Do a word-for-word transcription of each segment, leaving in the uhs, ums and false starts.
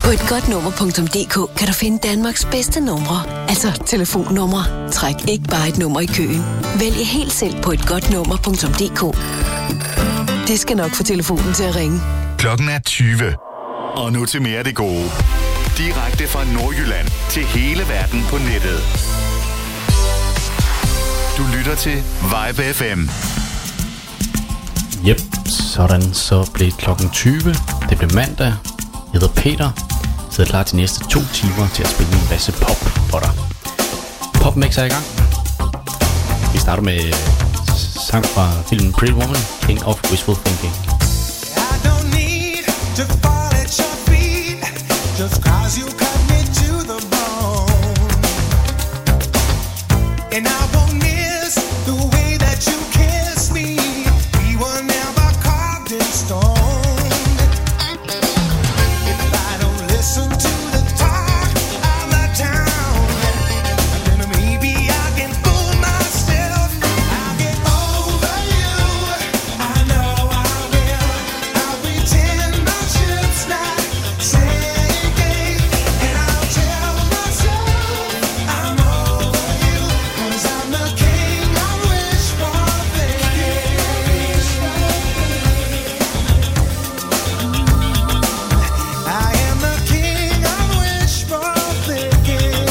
På et godt nummer punktum d k kan du finde Danmarks bedste numre. Altså telefonnumre. Træk ikke bare et nummer i køen. Vælg helt selv på et godt nummer punktum d k. Det skal nok få telefonen til at ringe. Klokken er tyve. Og nu til mere af det gode. Direkte fra Nordjylland til hele verden på nettet. Du lytter til Vibe F M. Jep, sådan så blev klokken tyve. Det blev mandag. Jeg hedder Peter. Jeg sidder klar til de næste to timer til at spille en masse pop for dig. Popmix er i gang. Vi starter med sang fra filmen Pretty Woman, King of Wishful Thinking. I don't need to fall at your feet, just cause you cut me to the bone. And I won't miss the way that you kiss me. We were never carved in stone. If I don't listen to the talk of the town, then maybe I can fool myself. I'll get over you. I know I will. I'll pretend my ship's not sinking, and I'll tell myself I'm over you, 'cause I'm the king of wishful thinking. I am the king of wishful thinking.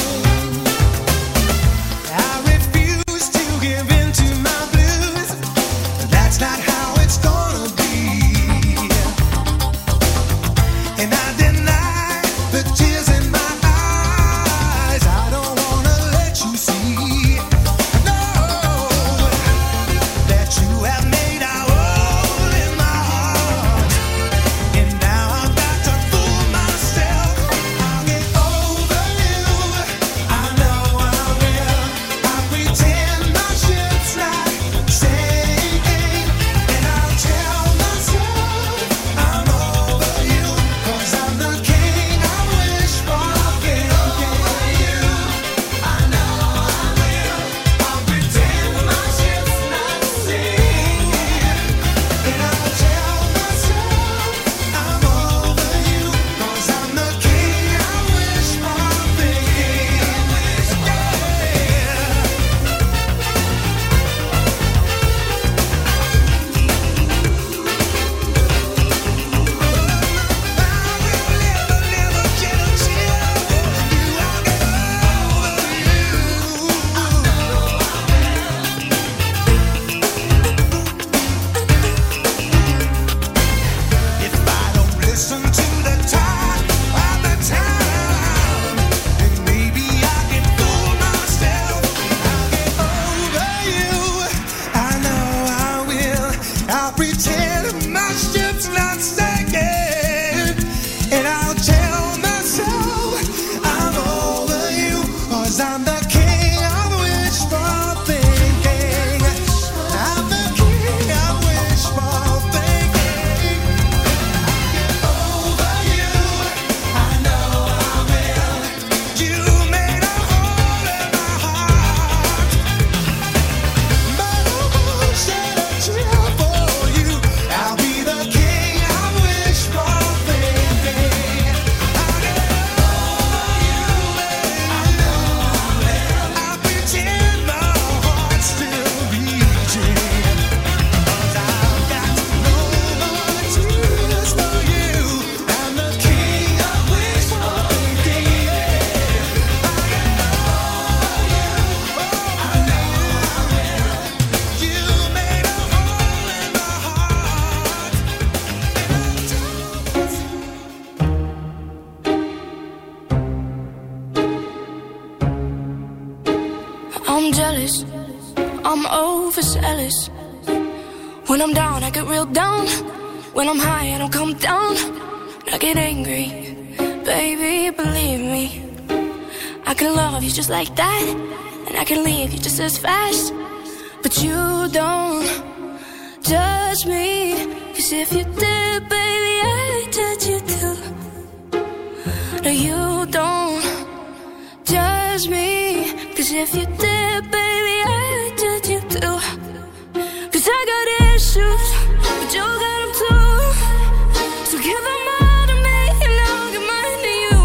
I refuse to give in to my blues. That's not how it's gonna be. And I deny the tears in my eyes. I don't wanna let you see. No, that you have made a hole in my heart. And now I've got to fool myself. I'll get over you. I know I will. I'll pretend my ship's not sinking, and I'll tell myself I'm over you, 'cause I'm the king of wishful thinking. I know I will. I'll pretend my ship's not sinking, and I'll tell myself I'm over you, 'cause I'm the king of wishful thinking. If I don't listen to the talk of the town, then maybe I can fool myself. I'll get over you. I know I will. I'll pretend my ship's not sinking, and I'll tell myself I'm over you, 'cause I'm the king of wishful thinking. I'm the king of wishful thinking. Over you, I know I will. You made a hole in my heart, but I won't shed a tear for you. I'll be the king of wishful thinking. I'll get over you, I know I will. I'll pretend my heart's still beating, 'cause I've got no more tears for you. I'm the king of wishful thinking. I'll get over you, I know I will. You made a hole in my heart. I'm jealous, I'm overzealous. When I'm down, I get real down. When I'm high, I don't come down. I get angry, baby, believe me. I can love you just like that, and I can leave you just as fast. But you don't judge me, 'cause if you did, baby, I'd judge you too. No, you don't judge me, 'cause if you did, baby, I'd judge you too. 'Cause I got issues, but you got them too. So give them all to me, and I'll give mine to you.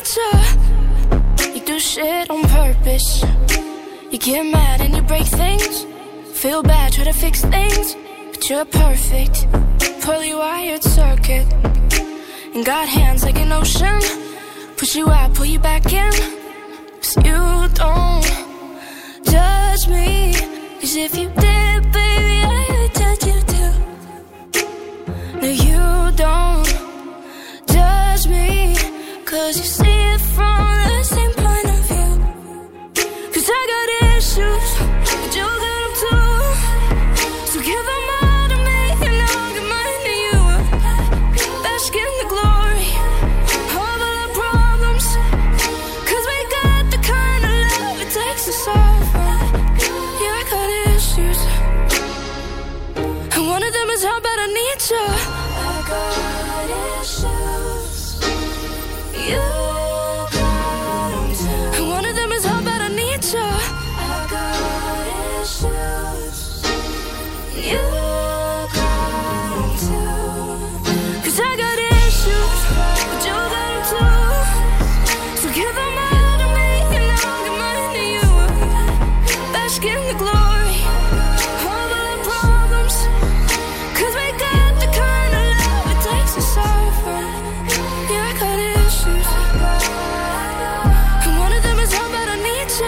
need you. You do shit on purpose. You get mad and you break things. Feel bad, try to fix things. But you're perfect, poorly wired circuit. And got hands like an ocean. Push you out, pull you back in. 'Cause you don't judge me. 'Cause if you did, baby, I would judge you too. No, you don't judge me. 'Cause you see it from the same point of view. 'Cause I got issues, but you got them too. So give them all to me and I'll give mine to you. Bask in the glory of all our problems. 'Cause we got the kind of love it takes to solve them. Yeah, I got issues, and one of them is how bad I need you. I got issues. You got them too. And one of them is how bad I need you. I got issues. You got them too. 'Cause I got issues, but you got them too. So give them all to me and I'll give mine to you. Bask in the glory of all our problems. 'Cause we got the kind of love it takes to solve them. Yeah, I got issues, and one of them is how bad I need you.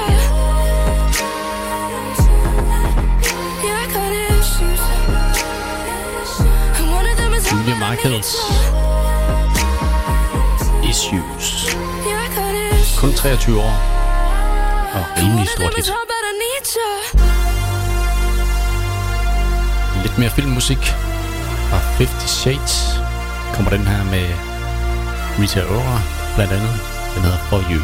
Yeah, I got issues, and one of them is how Julia bad I need Michaels. you. Issues. Yeah, I got issues, Kun treogtyve år. Og and rimelig one of stort them hit. is how bad I need you. Lidt mere filmmusik fra Fifty Shades. Kommer den her med Rita Ora blandt andet. Den hedder For You.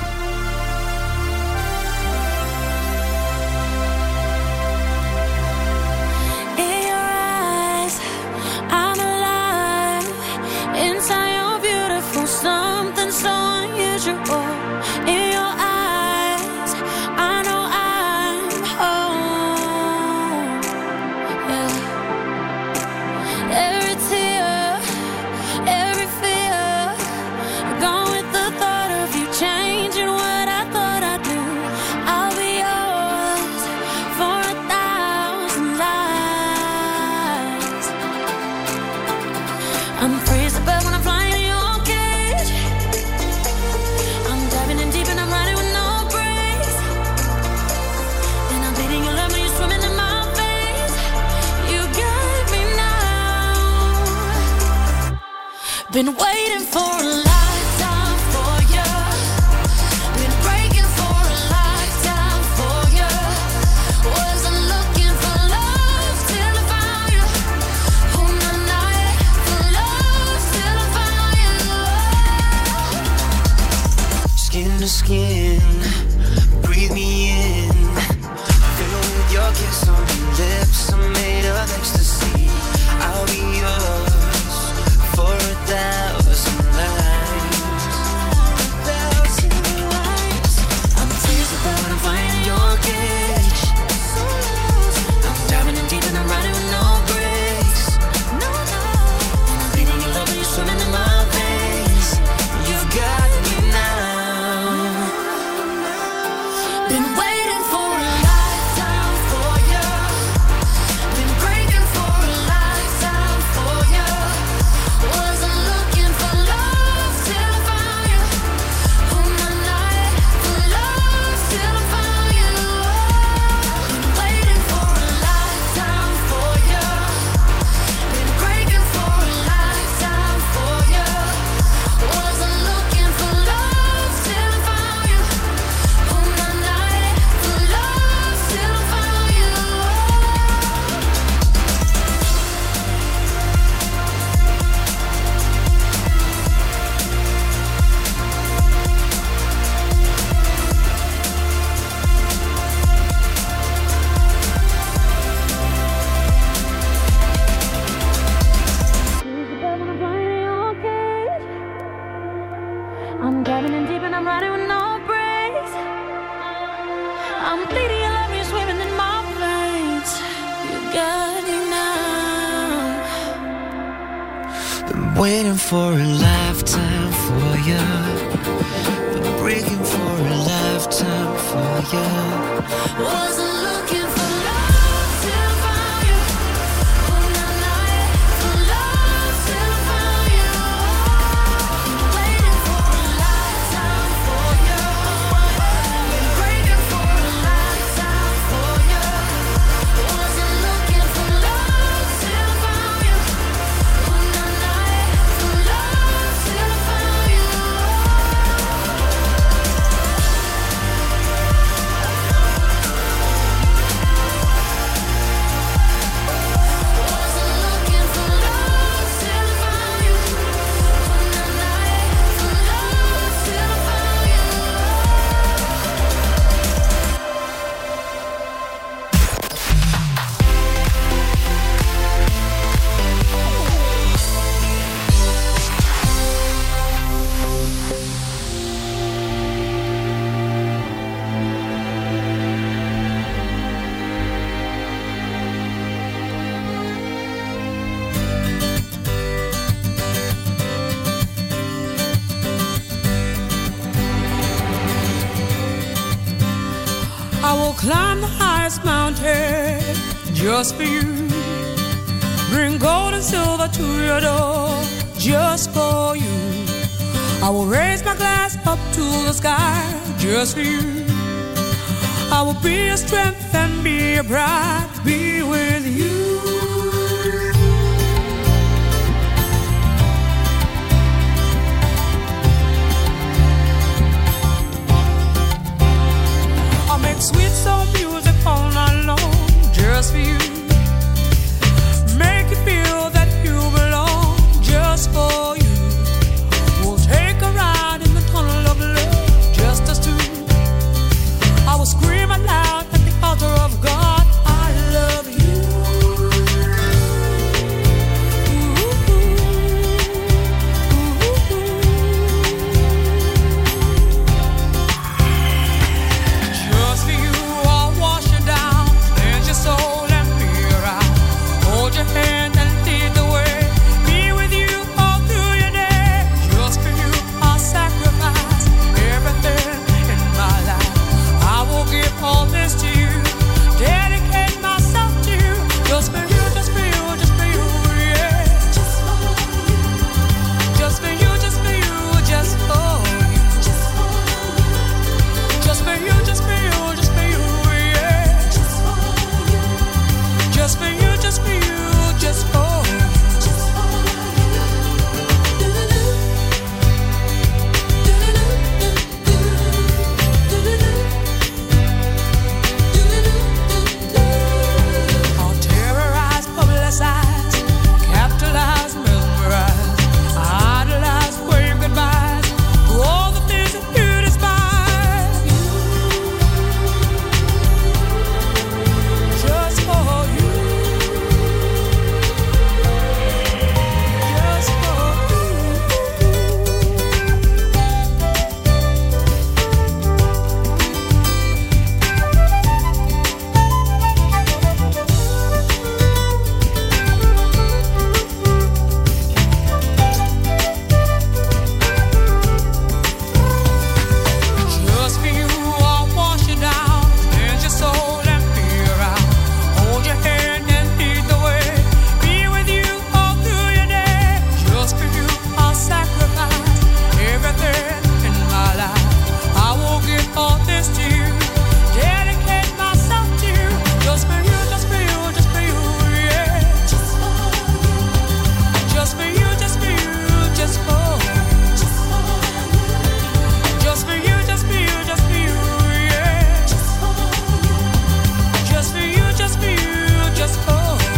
In your eyes, I'm alive. Inside you're beautiful, something so unusual. In your eyes, I know I'm home. Yeah. Every tear, every fear, gone with the thought of you changing what I thought I'd do. I'll be yours for a thousand lives. I'm free as a bird when I'm flying in your cage. I'm diving in deep and I'm riding with no brakes. And I'm bleeding your love when you're swimming in my veins. You got me now. Been waiting for a lifetime for you. Been breaking for a lifetime for you. Wasn't looking for love till I found you. On the night for love till I found you. Skin to skin, breathe me in. Fill with your kiss on your lips. I'm made of ecstasy. I'll be yours for a thousand lives. Thousand lives. I'm free as a bird when I'm flying in your cage. I'm diving in deep and I'm riding with no brakes. No, no. And I'm bleeding your love when you're swimming in my veins. You've got me now. Been waiting for a lifetime for you. Been breaking for a lifetime for you. Wasn't looking for love till I found you. On the night for love till I found you. Been waiting for a lifetime for you. Been breaking for a lifetime for you. Wasn't looking for love till I found you. On the night for love till I found you. I'm diving in deep and I'm riding with no brakes. I'm bleeding your love, you're swimming in my veins. You got me now. Been waiting for a lifetime for you. Been you. Wasn't looking for love till I found you. Oh, na, na, yeah. For love till I found you. Waiting for a lifetime for you. Been breaking for a lifetime for you. Wasn't looking for love till I found you. Oh, na, na, yeah. For love till I found you. Wasn't looking for love till I found you. Oh, na, na, yeah. For love till I found you. I will climb the highest mountain just for you. Bring gold and silver to your door just for you. I will raise my glass up to the sky just for you. I will be your strength and be your pride, be with you. I'll make sweet soul music all night long just for you. Make you feel that you belong just for you. We'll take a ride in the tunnel of love, just us two. I will scream aloud at the altar of God, I love you. Just for you, I'll wash you down, cleanse your soul and clear out. Hold your hand and lead the way. Be with you all through your day. Just for you, I'll sacrifice everything in my life. I will give all this to you, dedicate myself to you. Just for you, just for you, just for you, yeah. Just for you, just for you, just for you, just for you. Just for you, just for you, just for you, yeah. Just for you, just for you, just for you. I'll terrorize, publicize, capitalize, mesmerize, idolize, wave goodbyes to all the things that you despise. Just for you. Just for you. Just for you, I'll wash you down, cleanse your soul and clear out. Hold your hand and lead the way. Be with you all through your day. Just for you, I'll sacrifice everything in my life. I will give all this to you, dedicate myself to you. Just for you, just for you, just for you, yeah. Just for you, just for you, just for you, just for you. Just for you, just for you, just for you, yeah. Just for you, just for you, just for you.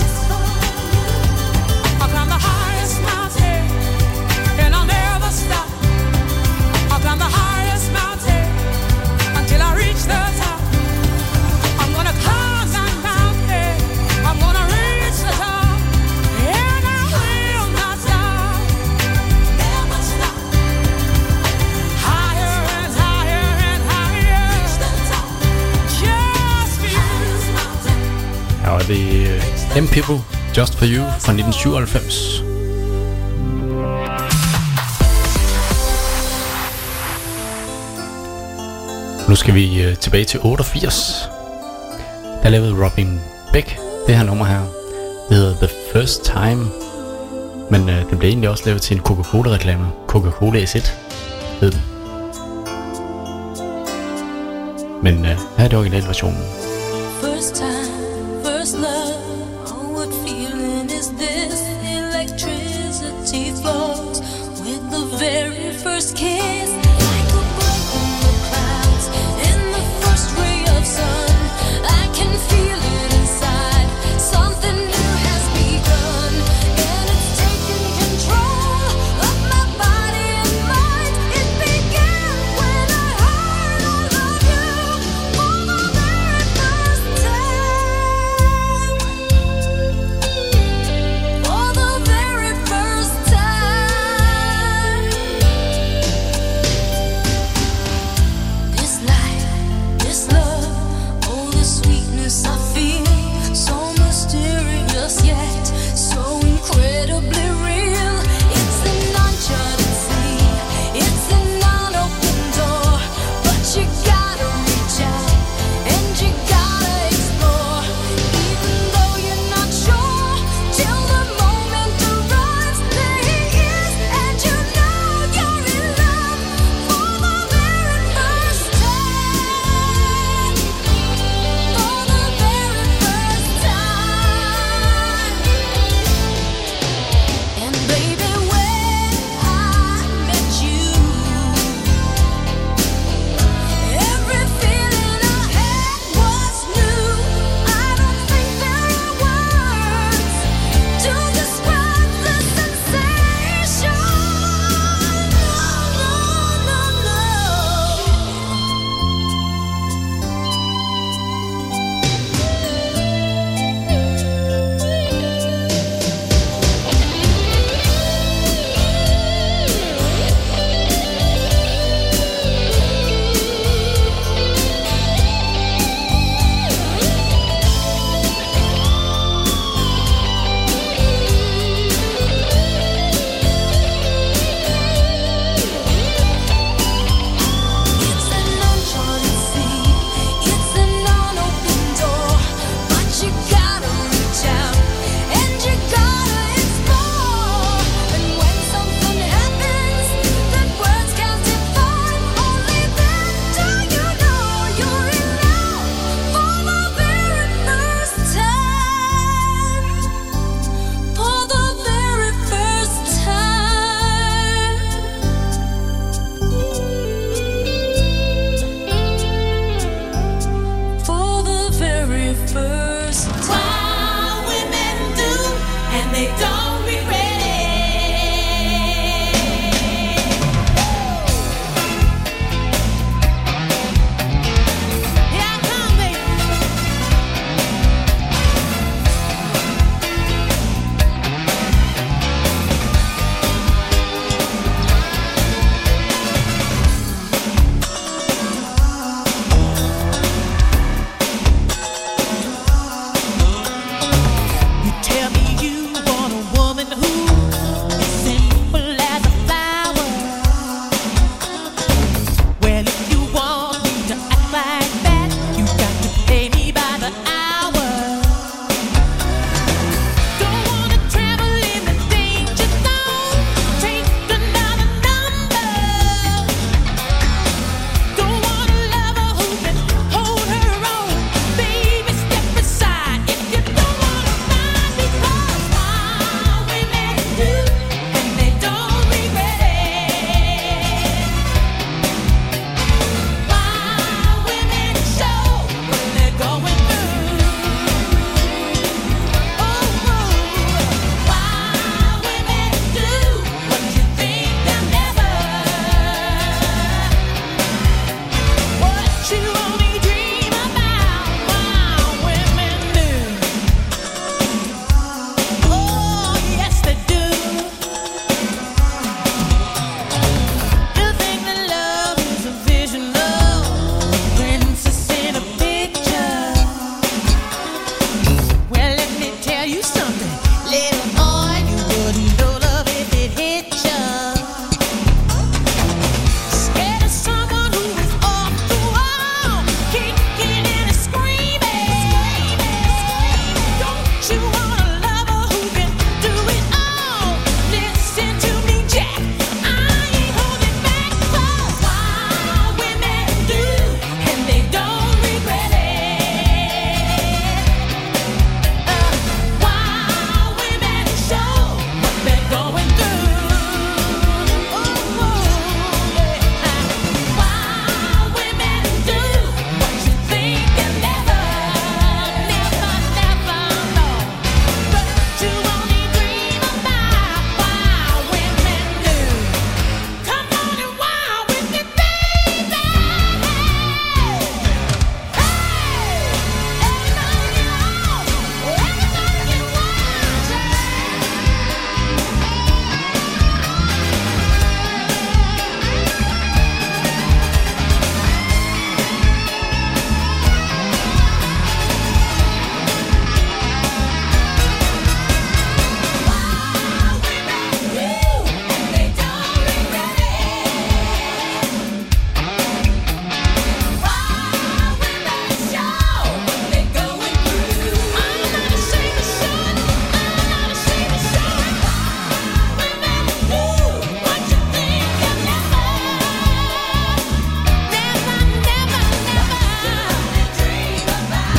I'll climb the highest mountain and I'll never stop. I'll climb the highest mountain until I reach the top. I'm gonna climb that mountain, I'm gonna reach the top, and I will not stop, never stop. Higher and higher and higher, reach the top, just for you. Her var det uh, M-People, Just For You fra nitten syvoghalvfems. Nu skal vi øh, tilbage til otteogfirs. Der lavede Robin Beck det her nummer her. Det hedder The First Time. Men øh, den blev egentlig også lavet til en Coca-Cola-reklame. Coca-Cola S et hed den. Men øh, her er det originalversionen. First time, first love. Oh, what feeling is this? Electricity flows with the very first kiss. Like a bolt from the clouds in the first ray of sun. I can feel it inside. Something new has begun, and it's taking control of my body and mind. It began when I heard I love you for the very first time. For the very first time.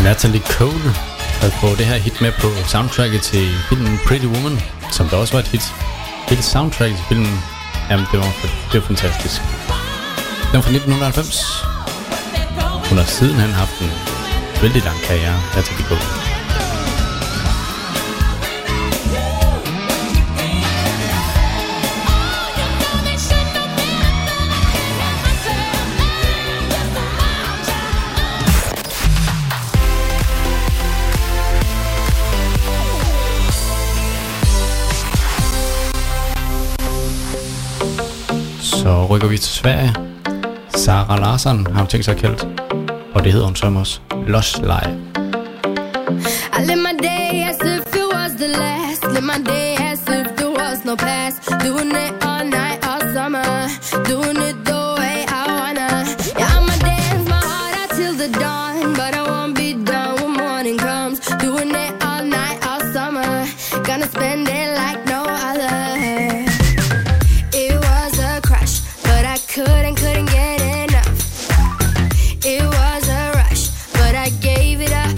Natalie Cole havde fået det her hit med på soundtracket til filmen Pretty Woman, som der også var et hit. Hele soundtracket til filmen, jamen det var, det var fantastisk. Den var fra nitten halvfems. Hun har sidenhen haft en vældig lang karriere, Natalie Cole. Så rykker vi til Sverige. Sara Larsson har hun tænkt sig at kalde, og det hedder hun som også Lost Live. I live my day as if it was the last. Live my day as if there was no past. Doing it all night, all summer. Doing it the way I wanna. Yeah, I'ma dance my heart out till the dawn, but I won't be done when morning comes. Doing it all night, all summer. Gonna spend it like no other. It was a crush, but I couldn't, couldn't get enough. It was a rush, but I gave it up.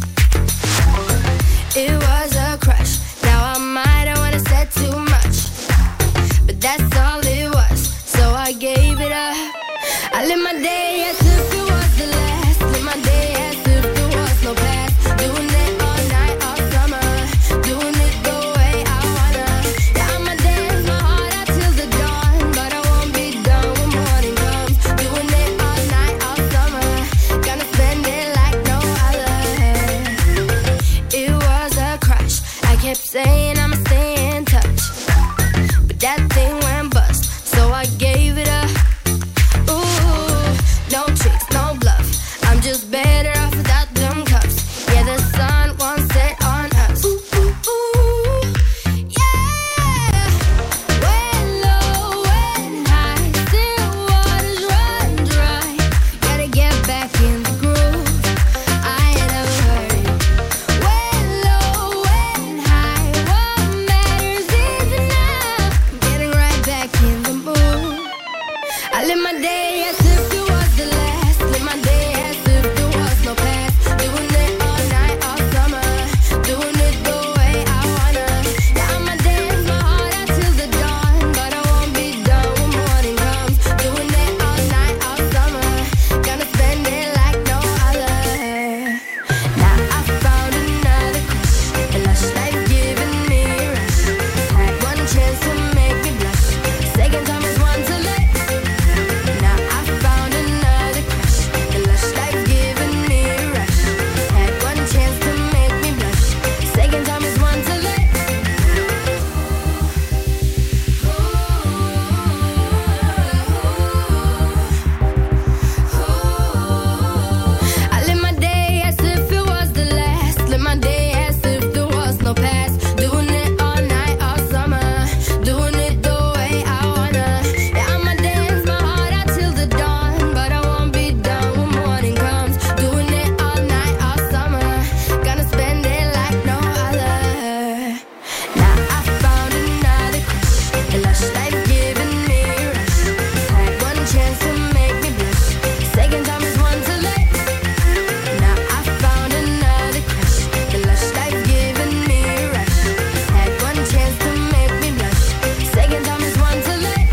It was a crush. Now I might have wanna said too much, but that's all it was. So I gave it up. I live my day as if it was the last. Live my day as if there was no past. Doing it all night, all summer. Doing it the way I wanna. Yeah, I'ma dance my heart out till the dawn, but I won't be done when morning comes. Doing it all night, all summer. Gonna spend it like no other. It was a crush. I kept saying I'ma stay in touch, but that thing went bust, so I gave it up. Ooh, no tricks, no bluff. I'm just better off without them cups. Yeah, the sun won't set on us. Ooh, ooh, ooh, yeah. When low, when high, still waters run dry. Gotta get back in the groove. I ain't never heard it. When low, when high, what matters is enough. Getting right back in the mood. I live my day as if it was the last. Live my day as if there was no past. Doing it all night, all summer. Doing it the way I wanna. Yeah, I'ma dance my heart out till the dawn, but I won't be done when morning comes. Doing it all night, all summer. Gonna spend it like no other. Now I found another crush, a lush life giving me a rush. Had one chance to make me blush. Second time is one to let. Now I found another crush, a lush life giving me a rush. Had one chance to make me blush. Second time is one to let. I live my day as if it was the last. Live my day as if there was no past. Doing it all night, all summer. Doing it the way I wanna. Yeah, I'ma dance my heart out till the dawn, but I won't be done when morning comes. Doing it all night, all summer. Gonna spend it like no other. Now I found another crush, a lush life giving me a rush. Had one chance to make me blush. Second time is one to let. Now I found another crush, a lush life giving me a rush. Had one chance to make me blush. Second time is one to let.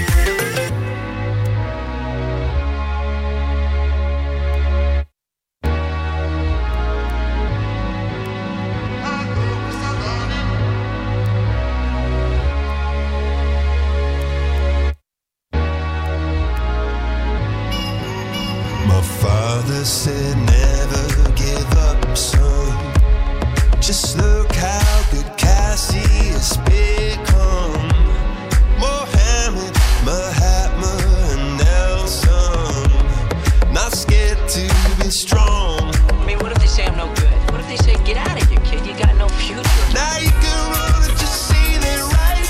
My father said never give up, son. Just look how good Cassie has become. Mohammed, Mahatma, and Nelson. Not scared to be strong. I mean, what if they say I'm no good? What if they say, get out of here, kid, you got no future? Now you can run if you see it right.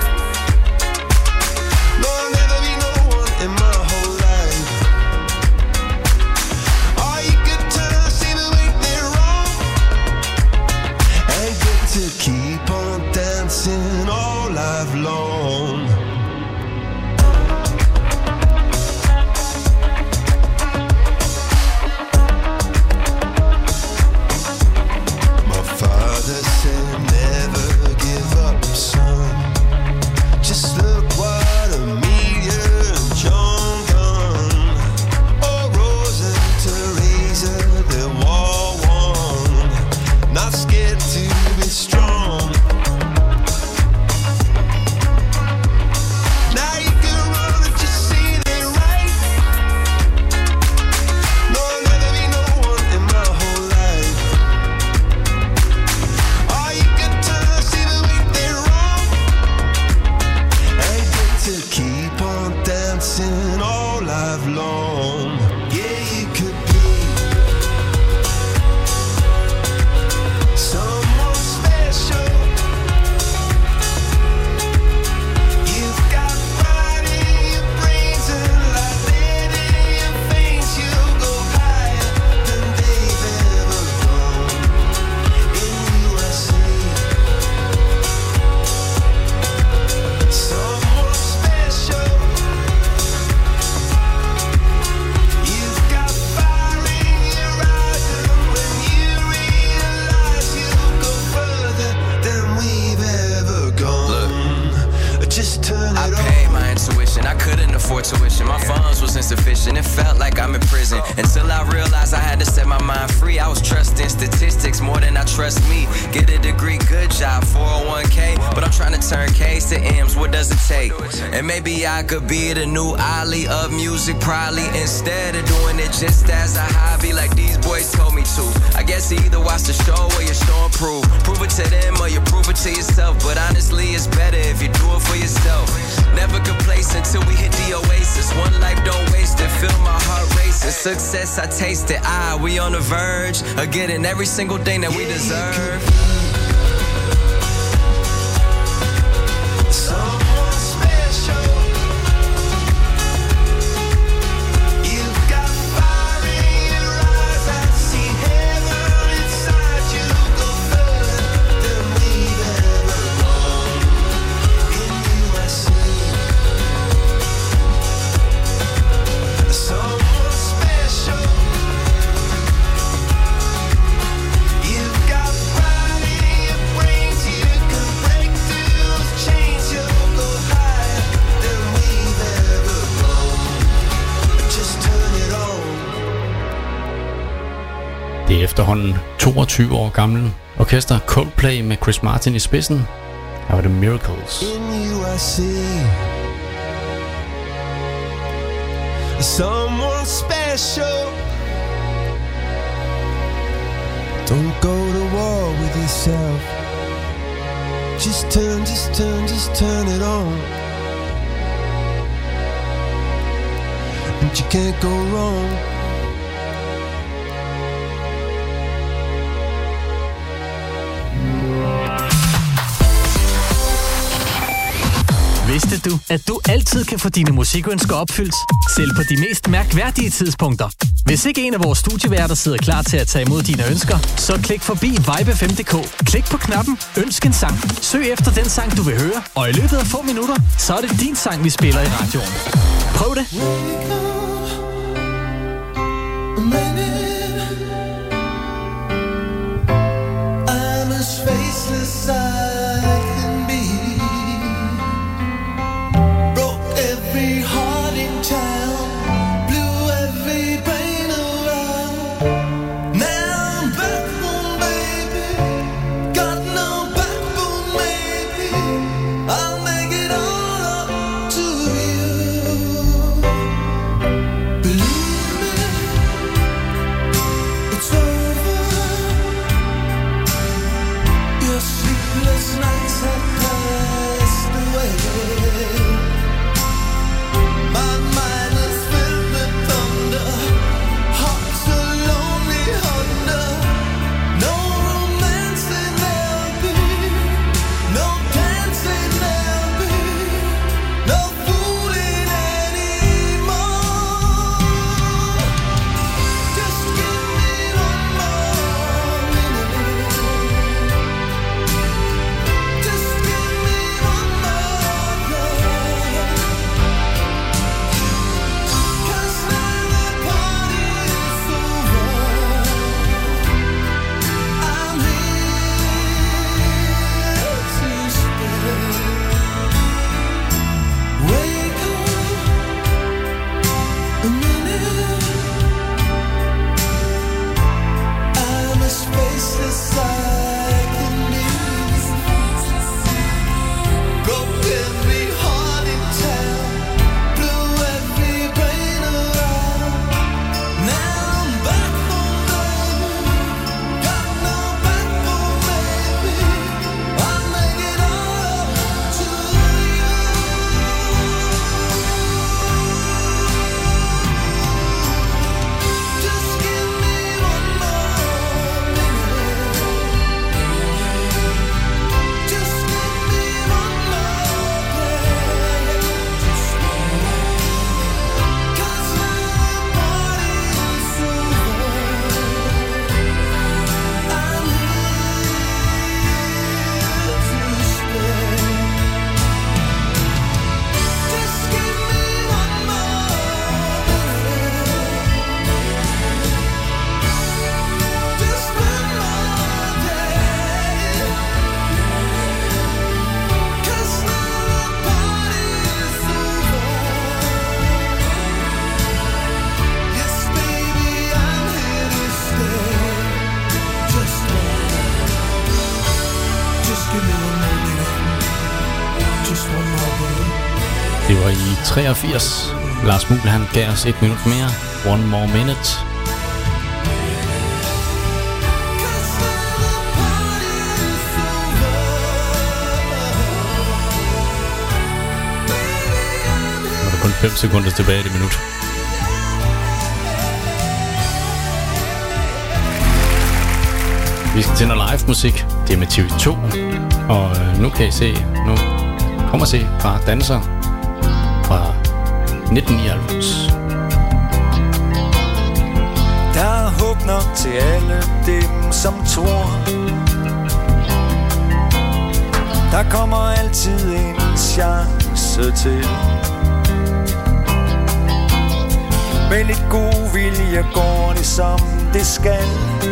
No, I'll never be no one in my whole life. All you good times seem to make me wrong. And get to keep on dancing all I've it felt like I'm in prison. Until I realized I had to set my mind free. I was trusting statistics more than I trust me. Get a degree, good job, four oh one k. But I'm trying to turn K's to M's, what does it take? And maybe I could be the new Ali of music, probably. Instead of doing it just as a hobby like these boys told me to. I guess you either watch the show or you show and prove. Prove it to them or you prove it to yourself. But honestly, it's better if you do it for yourself. Never complacent till we hit the oasis. One life, don't waste it, feel my heart racing. Success, I taste it, ah, we on the verge of getting every single thing that we deserve. Someone special. You've got fire in your eyes. I see heaven inside you. Go further than we've ever gone. In you I see someone special. You've got pride in your brains. You can break through the chains. You'll go higher than we've ever gone. Just turn it on. Det er efterhånden toogtyve år gammel orkester Coldplay med Chris Martin i spidsen. Her var det Miracles. In you I see someone special. Don't go to war with yourself. Just turn, just turn, just turn it on. And you can't go wrong. Vidste du, at du altid kan få dine musikønsker opfyldt, selv på de mest mærkværdige tidspunkter? Hvis ikke en af vores studieværter sidder klar til at tage imod dine ønsker, så klik forbi vibe f m punktum d k. Klik på knappen Ønsk en sang. Søg efter den sang, du vil høre, og i løbet af få minutter, så er det din sang, vi spiller i radioen. Prøv det! I'm as faceless I can be. Broke every heart in town, blew every brain around. Now I'm back home, baby. Got no backbone, maybe. I'll make it all up to you. Believe me. treogfirs. Lars Muhl, han gav os et minut mere. One more minute. Nu er der kun fem sekunder tilbage i det minut. Vi skal til noget live musik. Det er med T V to. Og øh, nu kan I se, nu kommer se fra danser fra nitten nioghalvfems. Der er håb nok til alle dem, som tror. Der kommer altid en chance til. Med lidt god vilje går det som det skal.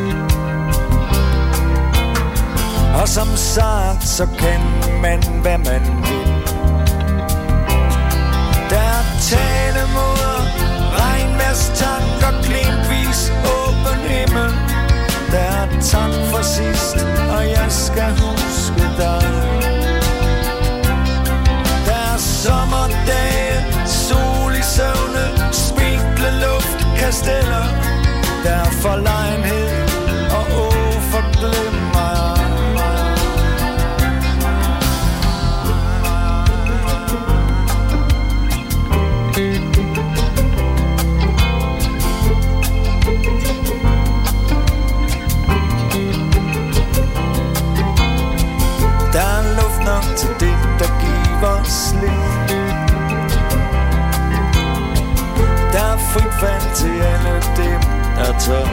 Og som sagt, så kan man, hvad man vil. Der er talemåder, regnværstanker, glimtvis, åben himmel. Der er tak for sidst, og jeg skal huske dig. Der er sommerdage, sol i søvne, spinkle luft, kasteller. Der er forlegenhed og uforglemmer. Til det, der giver slip. Der er frit fald til alle dem, der tør.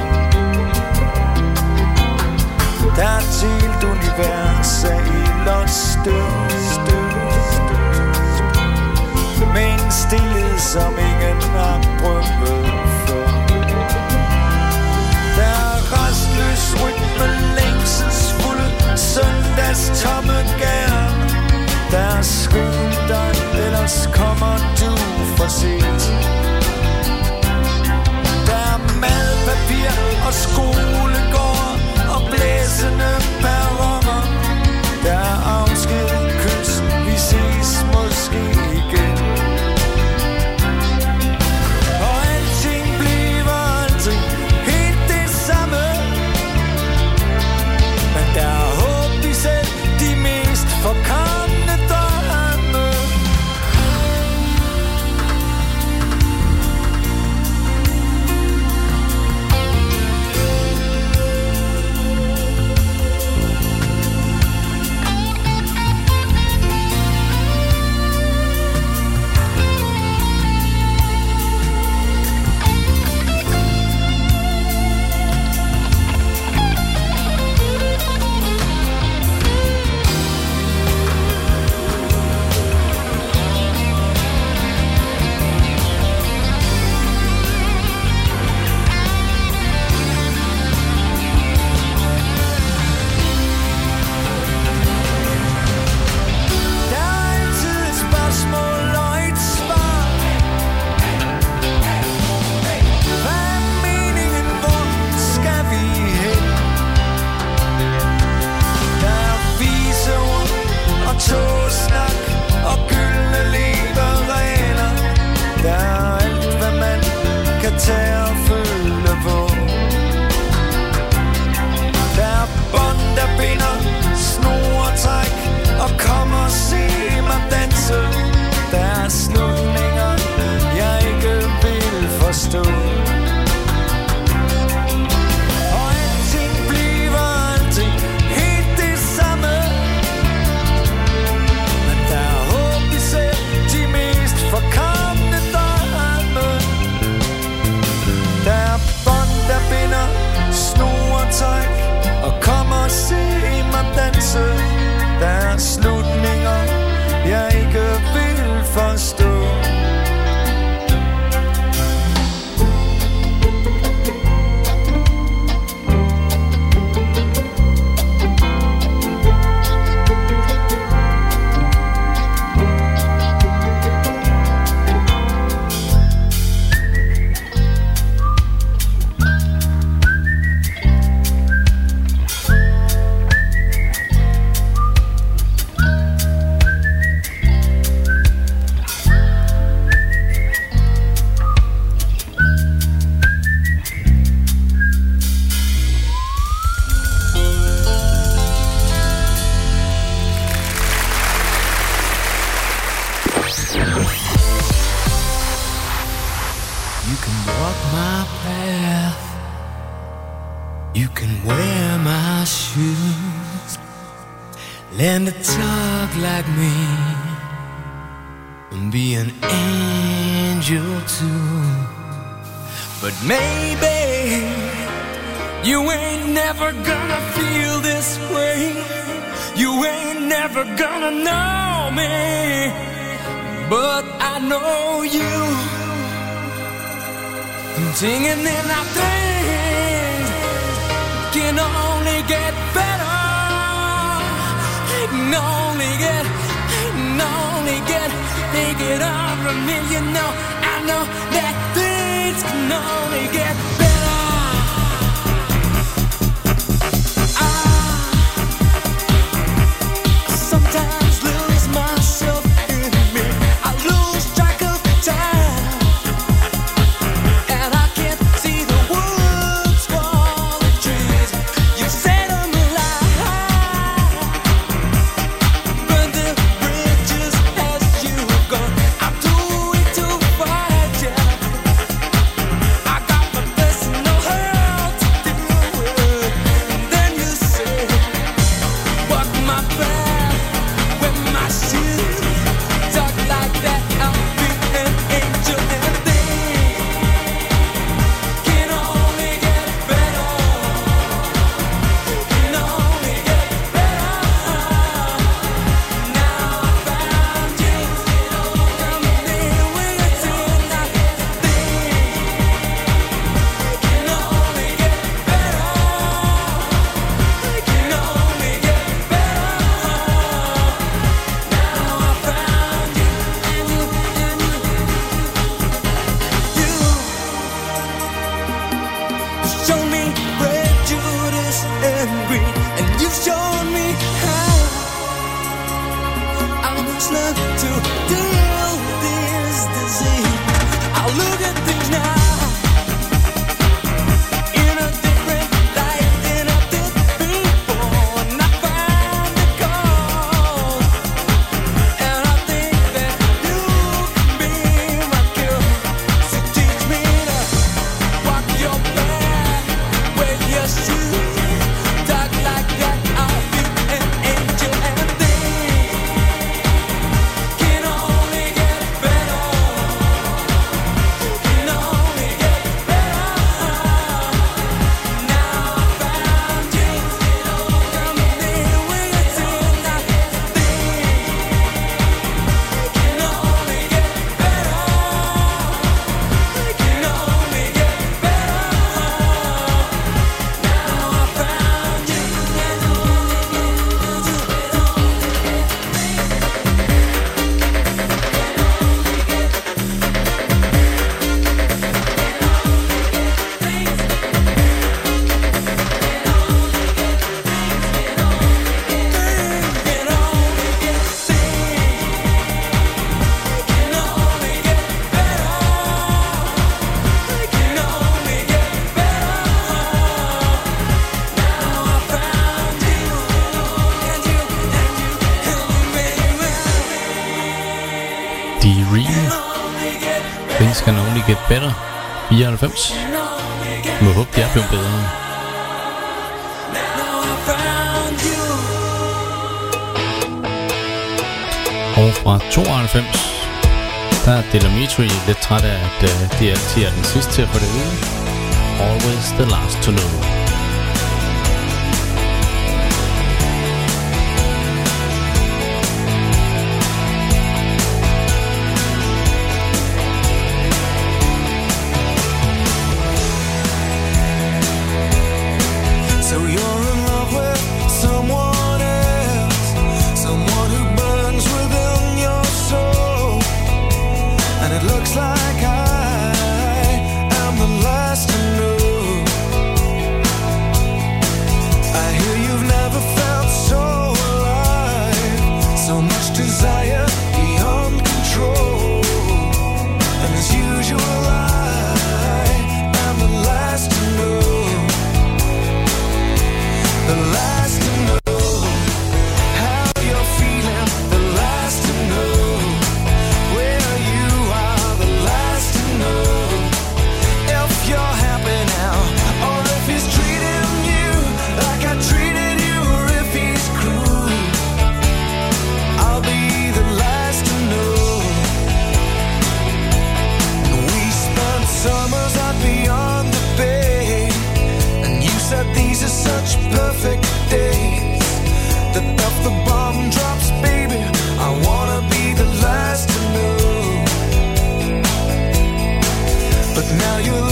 Der er et helt univers af ild og støv, støv, støv. Med en stillhed, som ingen har prøvet før. Der er restløs rytme, længselsfulde søndags tomme gær. Der er skyn dig, ellers kommer du for sent. Der er madpapir og skolegård og blæsende perroner. Der er afsked, kys, vi ses måske igen. Og alting bliver aldrig helt det samme. Men der er håb i selv de mest forkomne drømme. Der my path. You can wear my shoes, learn to talk like me, and be an angel too. But maybe you ain't never gonna feel this way. You ain't never gonna know me, but I know you. Singing in our things can only get better. Can only get, can only get. Take it all from me, you know. I know that things can only get better. I sometimes lose myself in me. I lose track of time. Things Can Only Get Better, fireoghalvfems. Må håbe, det er blevet bedre. Og fra tooghalvfems, der er Delamitri lidt træt af, at uh, det altid er den sidste til at få det ude. Always the last to know. Like I am the last to know.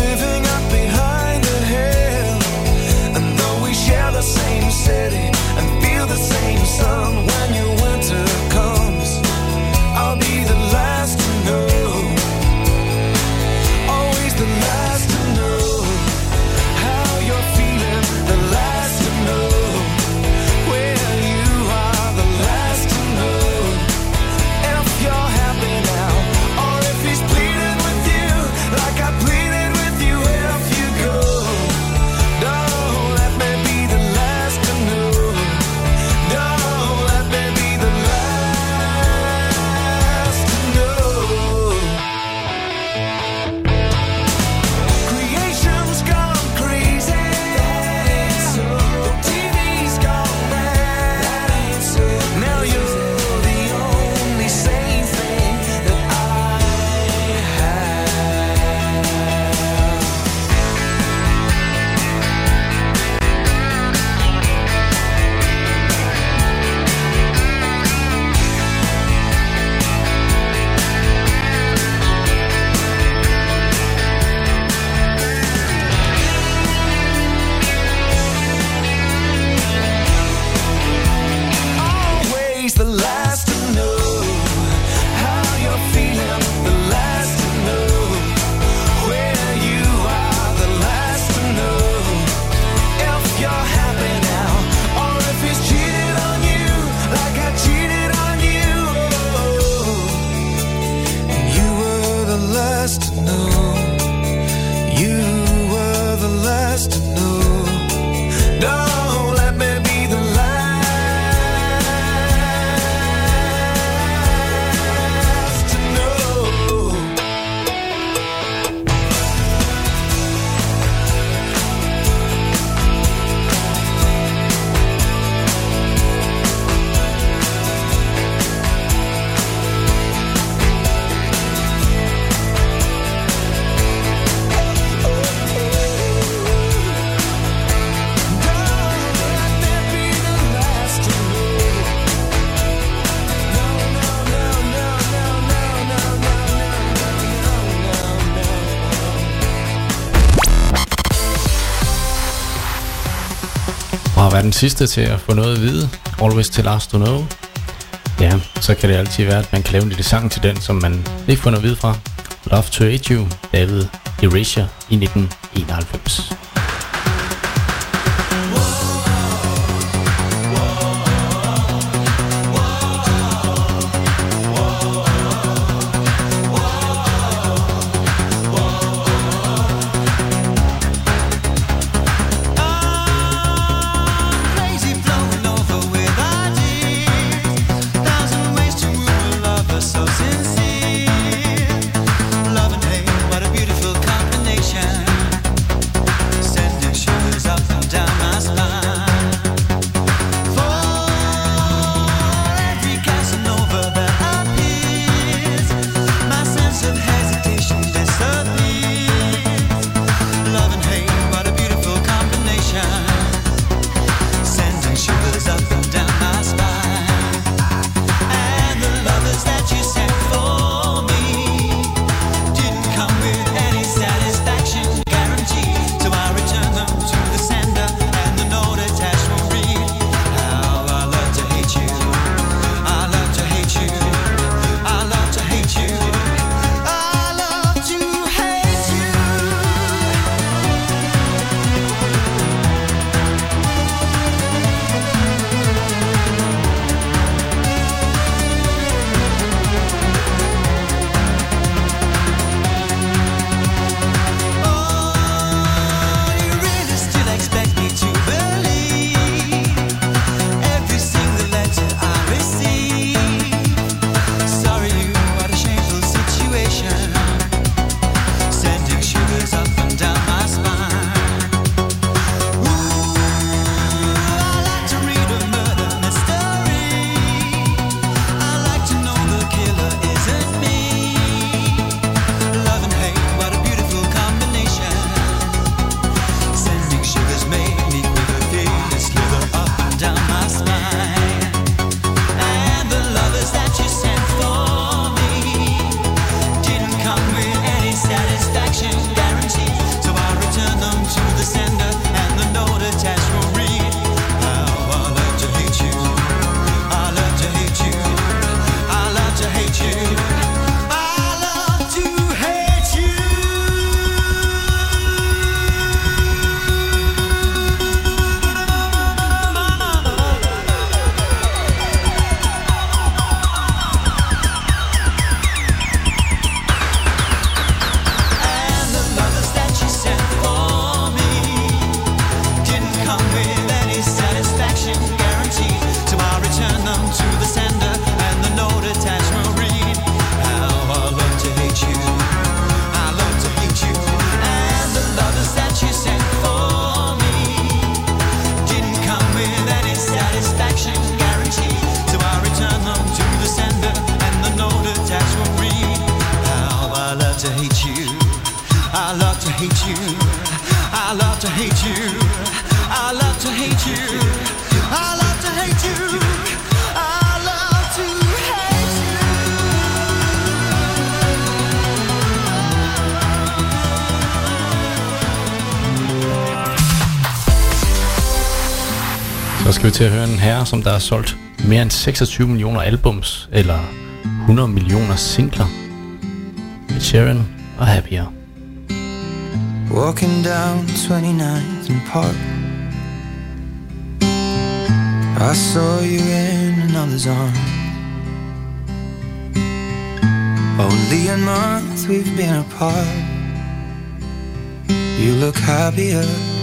living up behind the hill. And though we share the same city and feel the same sun, when your winter comes, I'll be the last to know. Always the last to know how you're feeling, the last to know where you are, the last to know if you're happy now or if he's pleading with you like I pleaded with you. If you go, don't let me be the last to know. Don't let me be the last to know. Creation's gone crazy. The T V's gone mad. Now you're the only sane thing that I have. Always the last to know how you're feeling, the last to know where you are, the last to know if you're happy now or if he's cheated on you like I cheated on you. And you were the last to know. You were the last to know. Don't let me be the last to know. Og har været den sidste til at få noget at vide, always the last to know. Ja, så kan det altid være, at man kan lave en lille sang til den, som man ikke får noget at vide fra. Love to Hate You, David Erasure i nitten enoghalvfems. Crazy flowing over with ideas. Thousand ways to rule a lover so sincere. Love and hate, what a beautiful combination. Sending I love to hate you. I love to hate you. I love to hate you. I love to hate you. Så skal vi til at høre en herre, som der har solgt mere end seksogtyve millioner albums, eller hundrede millioner singler. Ed Sheeran og Happier. Walking down twenty-ninth and Park, I saw you in another's arms. Only a month we've been apart. You look happier.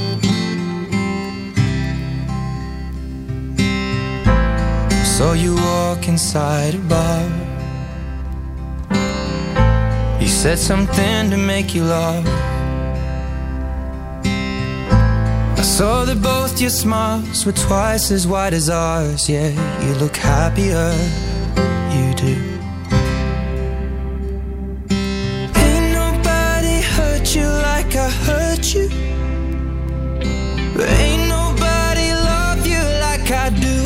Saw you walk inside a bar. You said something to make you laugh. I saw that both your smiles were twice as wide as ours. Yeah, you look happier, you do. Ain't nobody hurt you like I hurt you. Ain't nobody love you like I do.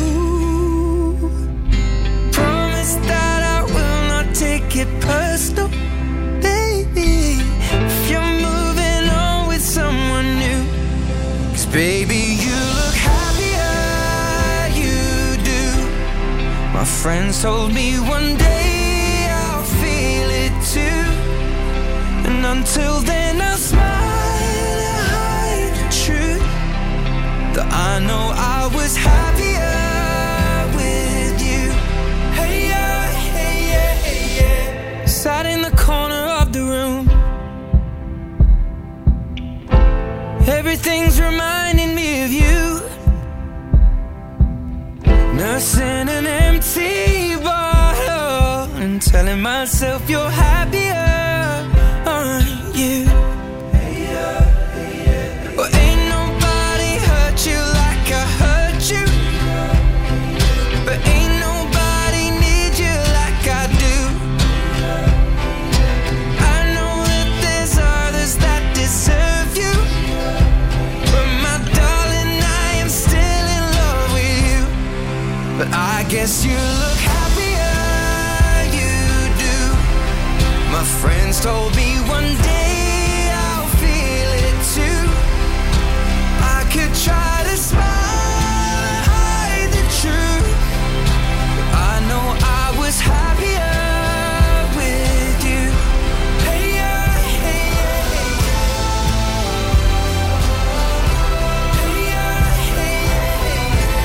Promise that I will not take it personal, baby, if you're moving on with someone new. Baby, you look happier, you do. My friends told me one day I'll feel it too. And until then I'll smile and hide the truth, that I know I was happier with you. Hey yeah, hey yeah, hey yeah. Sat in the corner of the room. Everything's reminding me of you. Nursing an empty bottle and telling myself you're happier, aren't you? Well, ain't nobody hurt you like I hurt you. But ain't nobody need you like I do. I know that there's others that deserve you. But I guess you look happier, you do. My friends told me one day I'll feel it too. I could try to smile and hide the truth, but I know I was happier with you. Hey yeah, hey yeah, hey yeah. Hey yeah, hey yeah, hey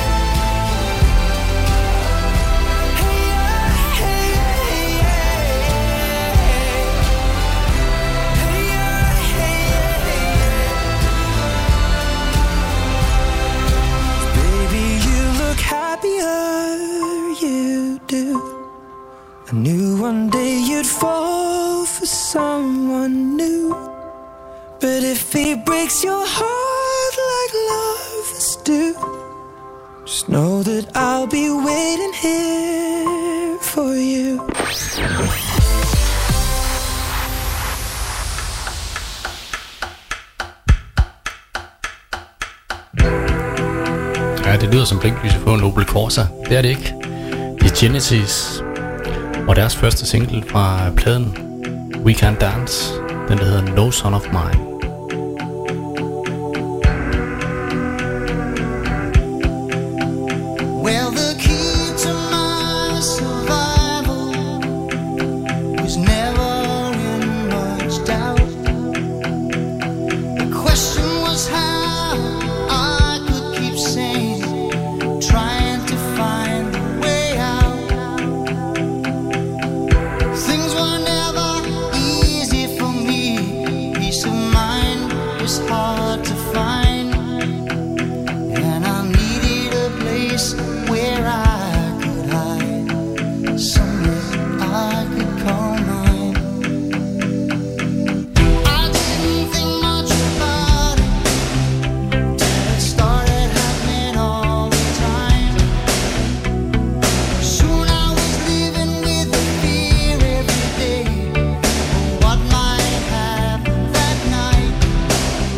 I knew one day you'd fall for someone new. But if he breaks your heart like lovers do, just know that I'll be waiting here for you. Ja, det lyder som blinklyset på en Opel Corsa. Det er det ikke. Det er Genesis og deres første single fra pladen We Can't Dance. Den der hedder No Son of Mine. Well, the key to my survival was never in much doubt. The question was how I could keep sane, trying to find the way out. Things were never easy for me. Peace of mind was hard to find, and I needed a place where I could hide, somewhere I could call mine. I didn't think much about it till it started happening all the time. Soon I was living with the fear every day of what might happen that night.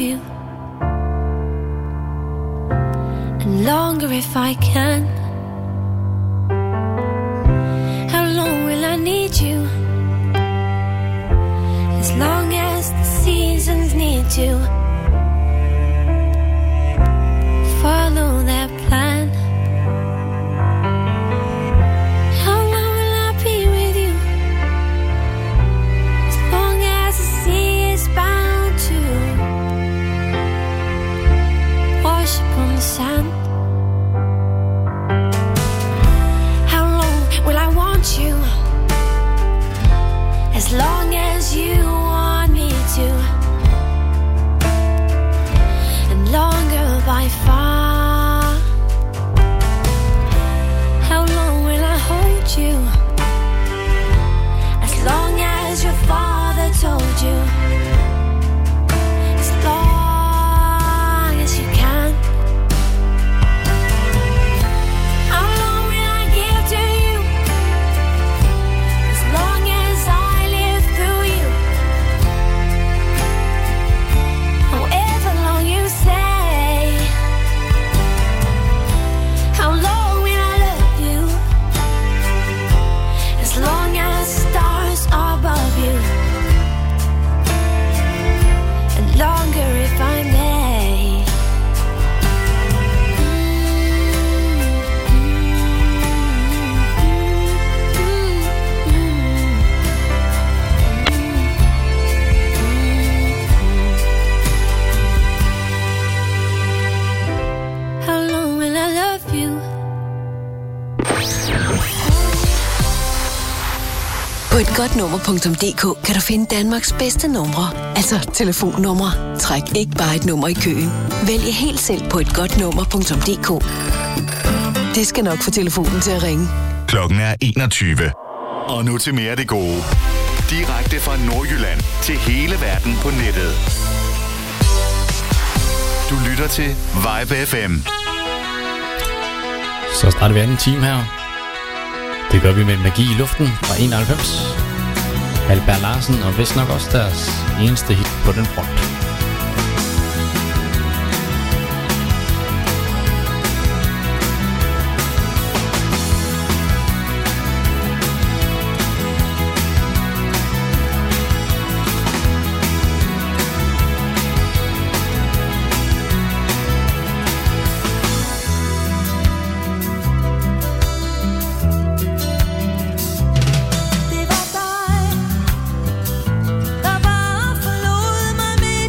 you, and longer if I can. How long will I need you? As long as the seasons need to follow their plan. How long will I be with you? As long as the sea is bound to wash upon the sand. How long will I want you? As long as you want me to, and longer by far. How long will I hold you? As long as your father told you. As long as you can. How long will I give to you? As long as I live through you. However long you say. How long will I love you? As long as stars are above you. And longer if I may. How long will I love you? På et godt nummer punktum d k kan du finde Danmarks bedste numre. Altså telefonnumre. Træk ikke bare et nummer i køen. Vælg helt selv på et godt nummer punktum d k. Det skal nok få telefonen til at ringe. Klokken er enogtyve. Og nu til mere af det gode. Direkte fra Nordjylland til hele verden på nettet. Du lytter til Vibe F M. Så starter vi anden time her. Det gør vi med Magi i luften fra enoghalvfems. Albert Larsen og vist nok også deres eneste hit på den front. Det var dig, der bare forlod mig.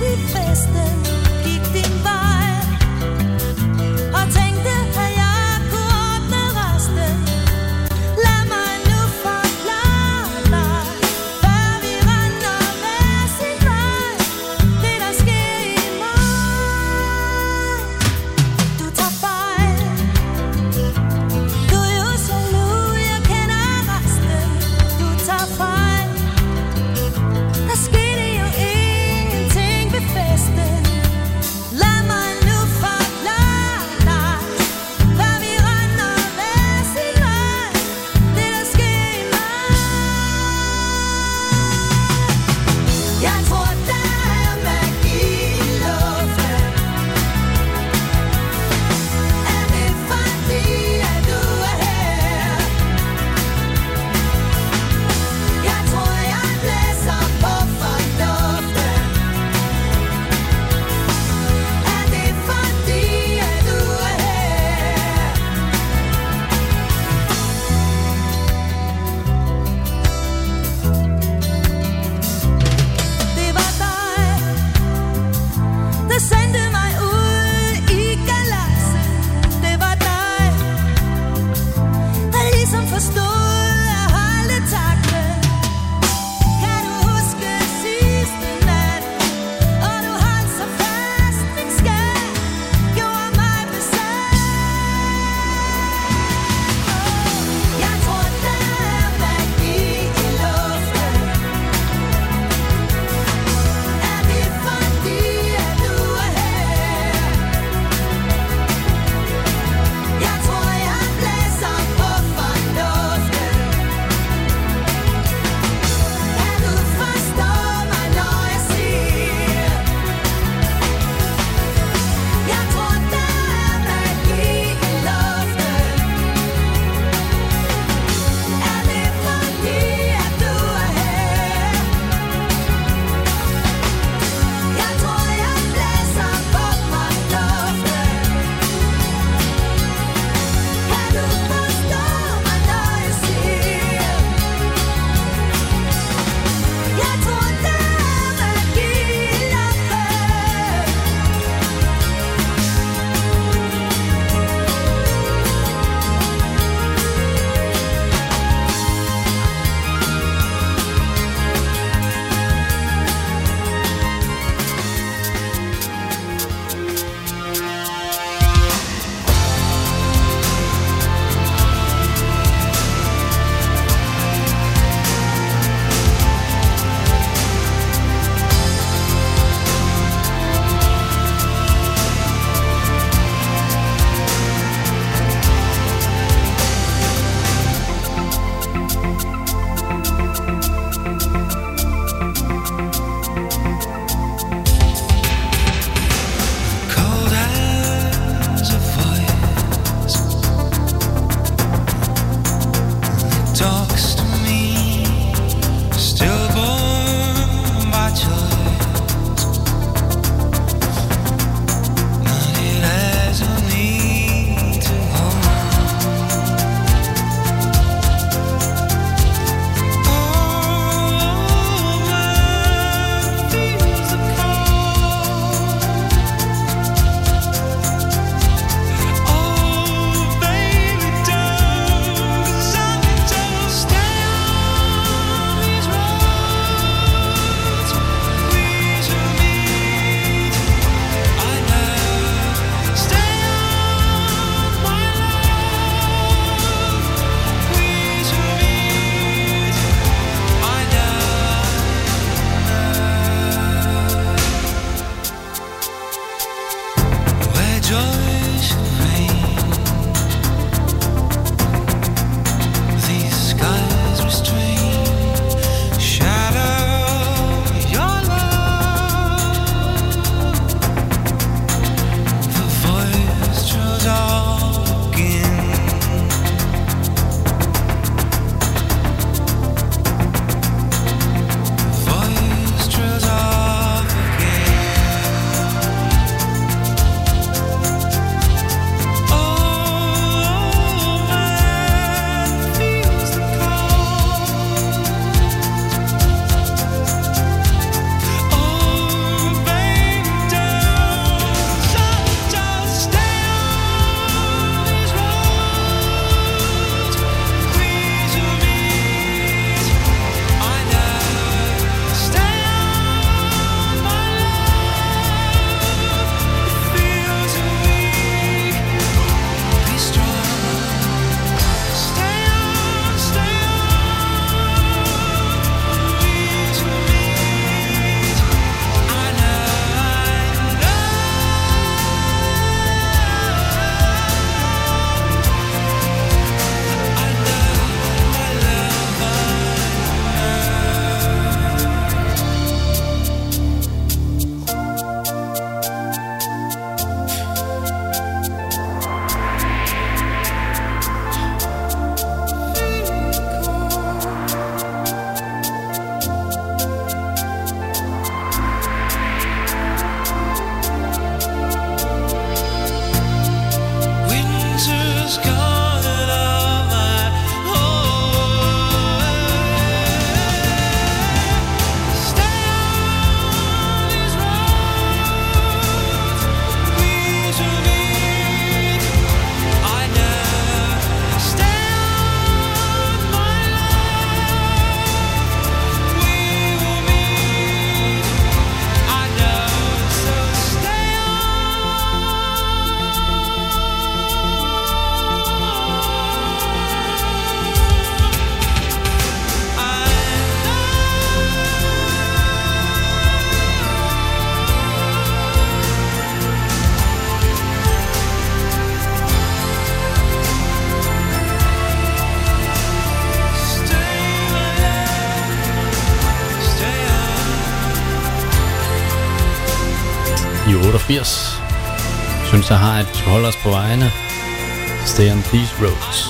toogfirs. Synes jeg har, at vi skal holde os på vejene. Stay on these roads.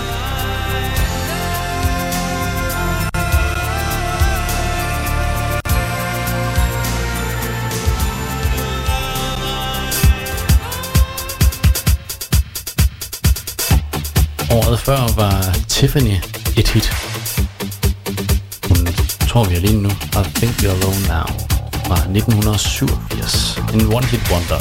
Året før var Tiffany et hit. Hun tror vi er lige nu. I Think We're Alone Now fra nitten syvogfirs. En one hit wonder.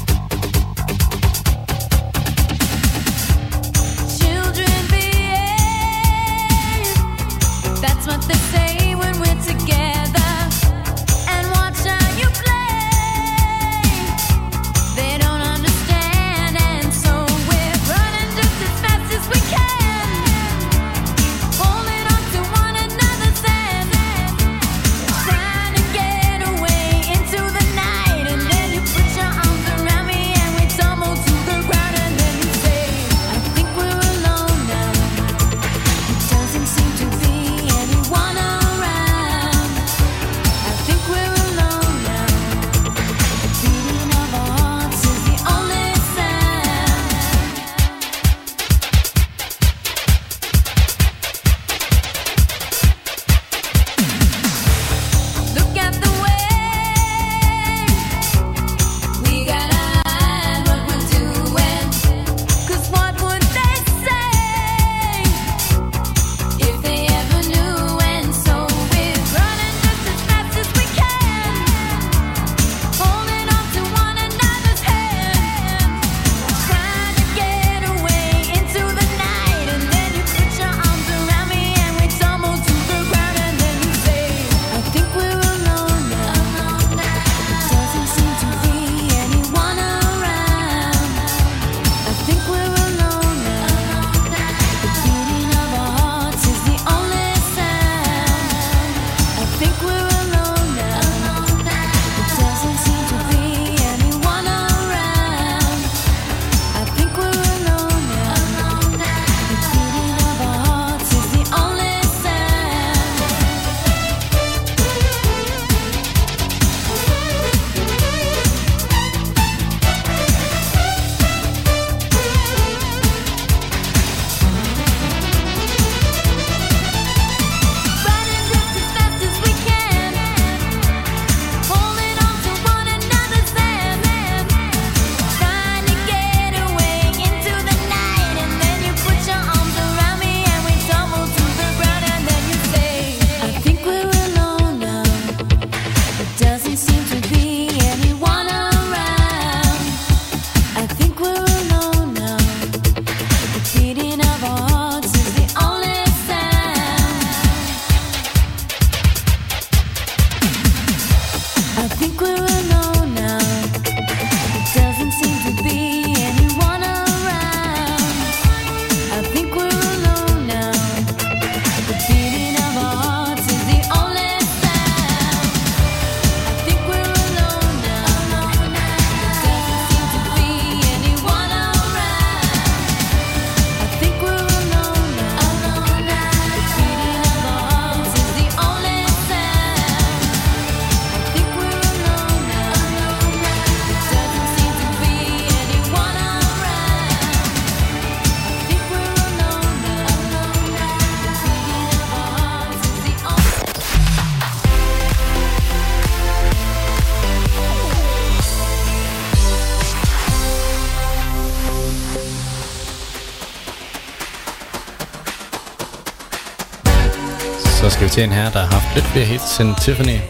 Så skal vi til en her, der har haft lidt flere hits end Tiffany.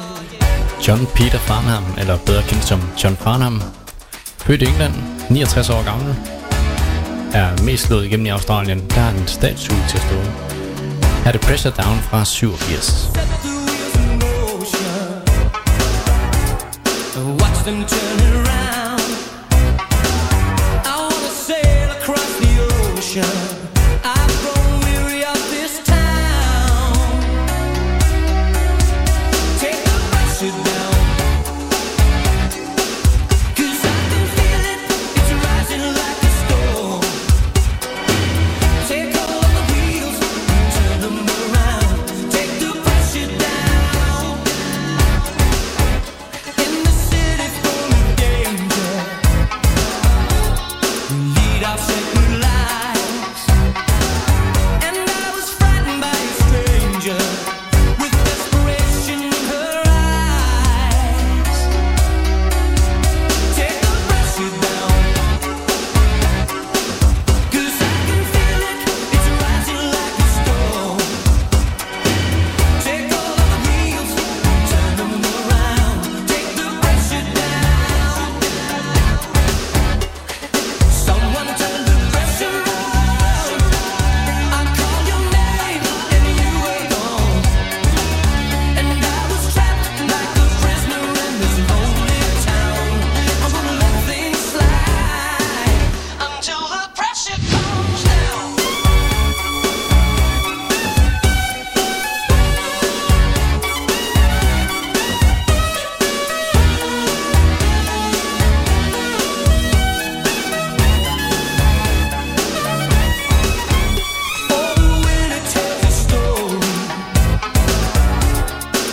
John Peter Farnham, eller bedre kendt som John Farnham. Født i England, niogtres år gammel. Er mest slået igennem i Australien. Der er en statue til at stå. Her er det Pressure Down fra syvogfirs. Watch them turn around. I wanna sail across the ocean. I've grown weary of this town. Take the pressure down. 'Cause I can feel it, it's rising like a storm. Take all of the wheels and turn them around. Take the pressure down. In the city for me.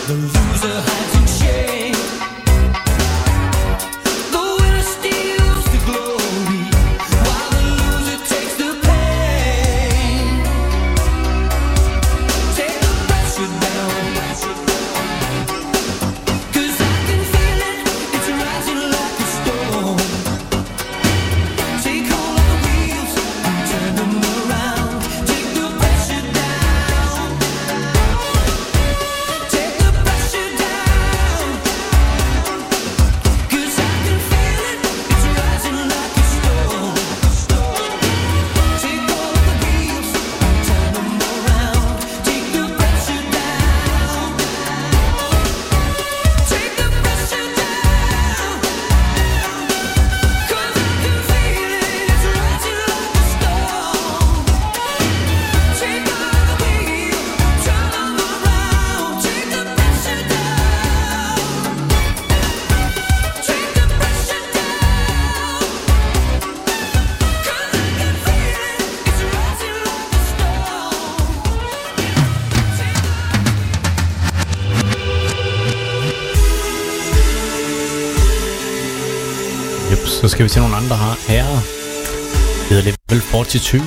Så skal vi til nogle andre herrer. Det hedder Level fireogfyrre.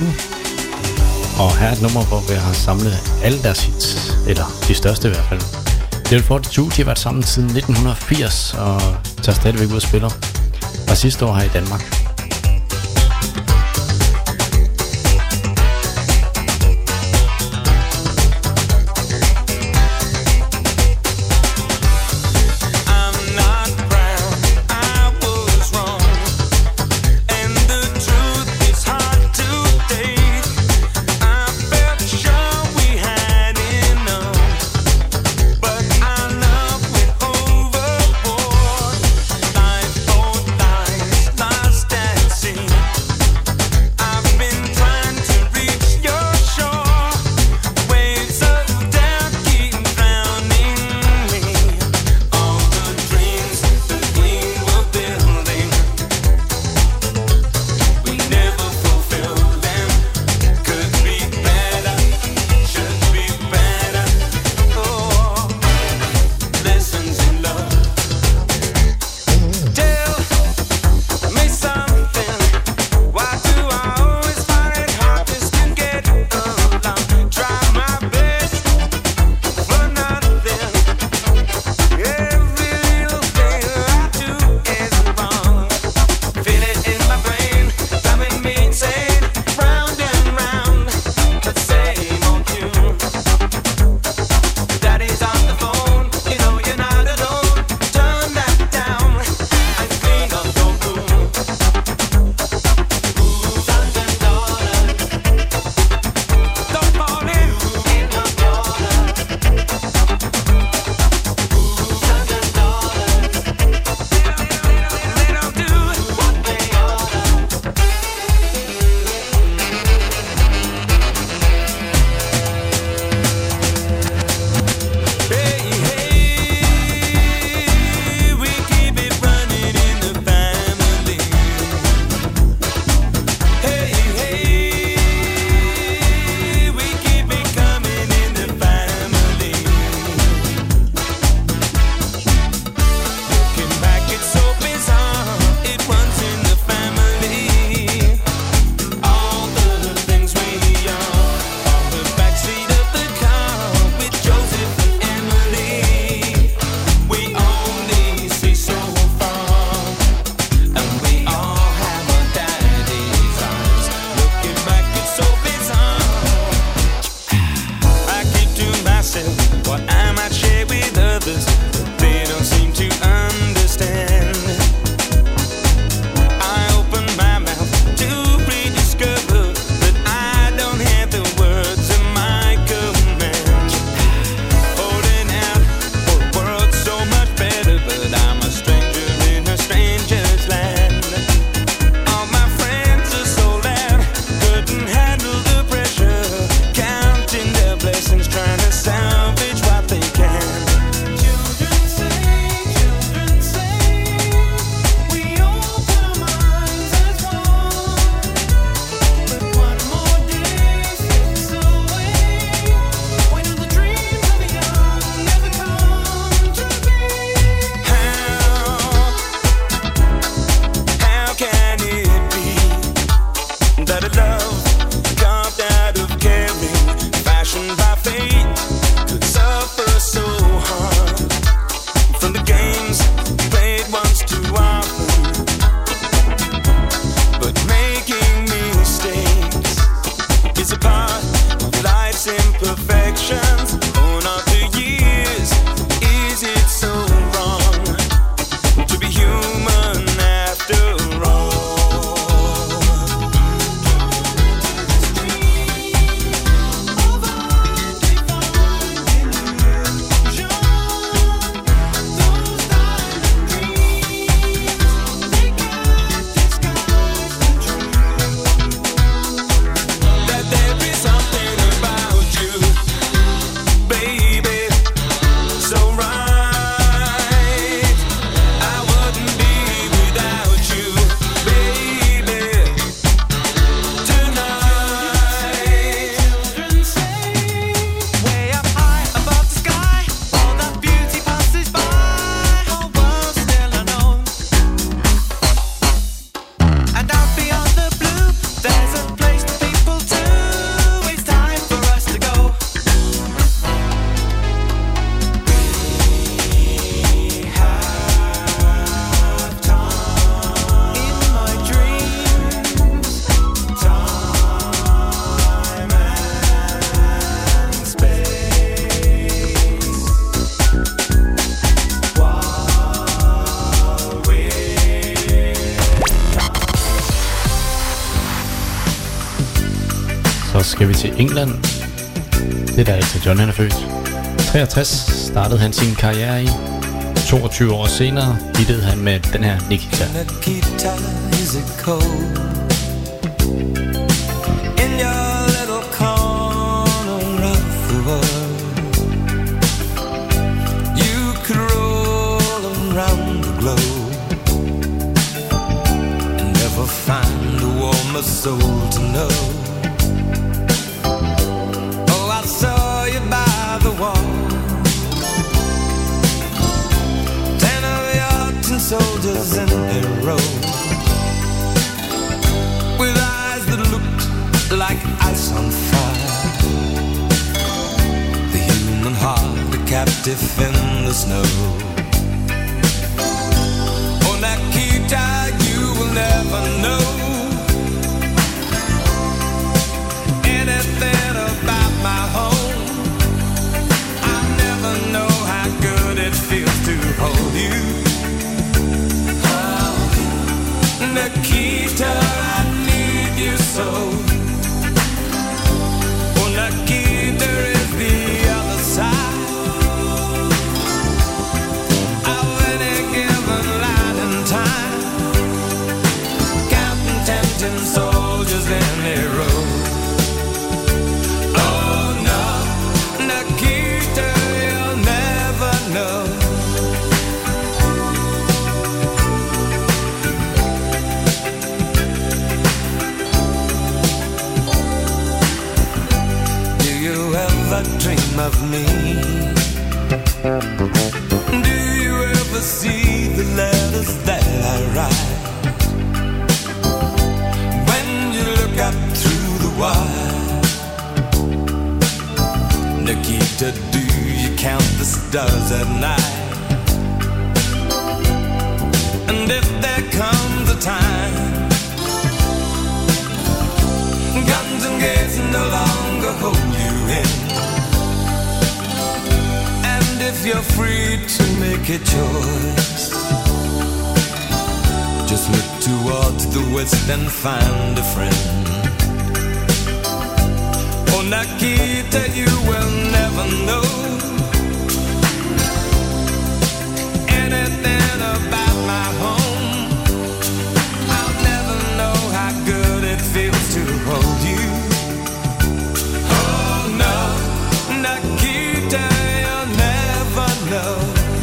Og her er et nummer, hvor vi har samlet alle deres hits. Eller de største i hvert fald. Level fireogfyrre, de har været sammen siden nitten firs og tager stadigvæk ud og spiller. Og sidste år her i Danmark. Step skal vi til England. Det er der Elton John han er født. treogtres startede han sin karriere i. toogtyve år senere hittede han med den her Nikita. Nikita, is it cold? In your little corner of the world, you could roll around the globe and never find a warmer soul to know. Oh, I saw you by the wall, ten of your tin soldiers in a row, with eyes that looked like ice on fire, the human heart a captive in the snow. Oh, Nikita, you will never know anything about my home. I'll never know how good it feels to hold you. Oh, Nikita, I need you so. Oh, Nikita is the other side of any given light and time, counting ten soldiers in a row. Oh no, Nikita, you'll never know. Do you ever dream of me? Do you ever see the letters that I write? When you look up through the wire, Nikita, do you count the stars at night? And if there comes a time guns and gates no longer hold you in, and if you're free to make a choice, just look towards the west and find a friend. Oh, Nikita, you will never know anything about my home. I'll never know how good it feels to hold you. Oh no, Nikita, you'll never know.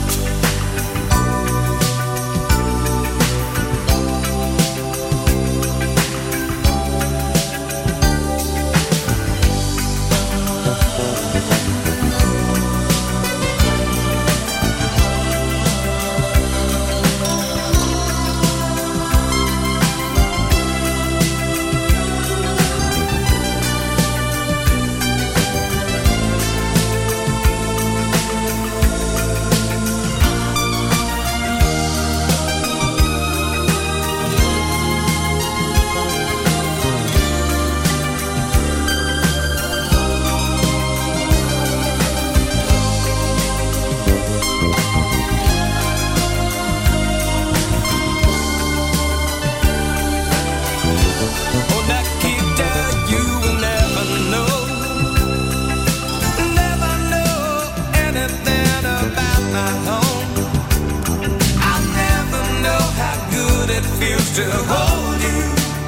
To hold you,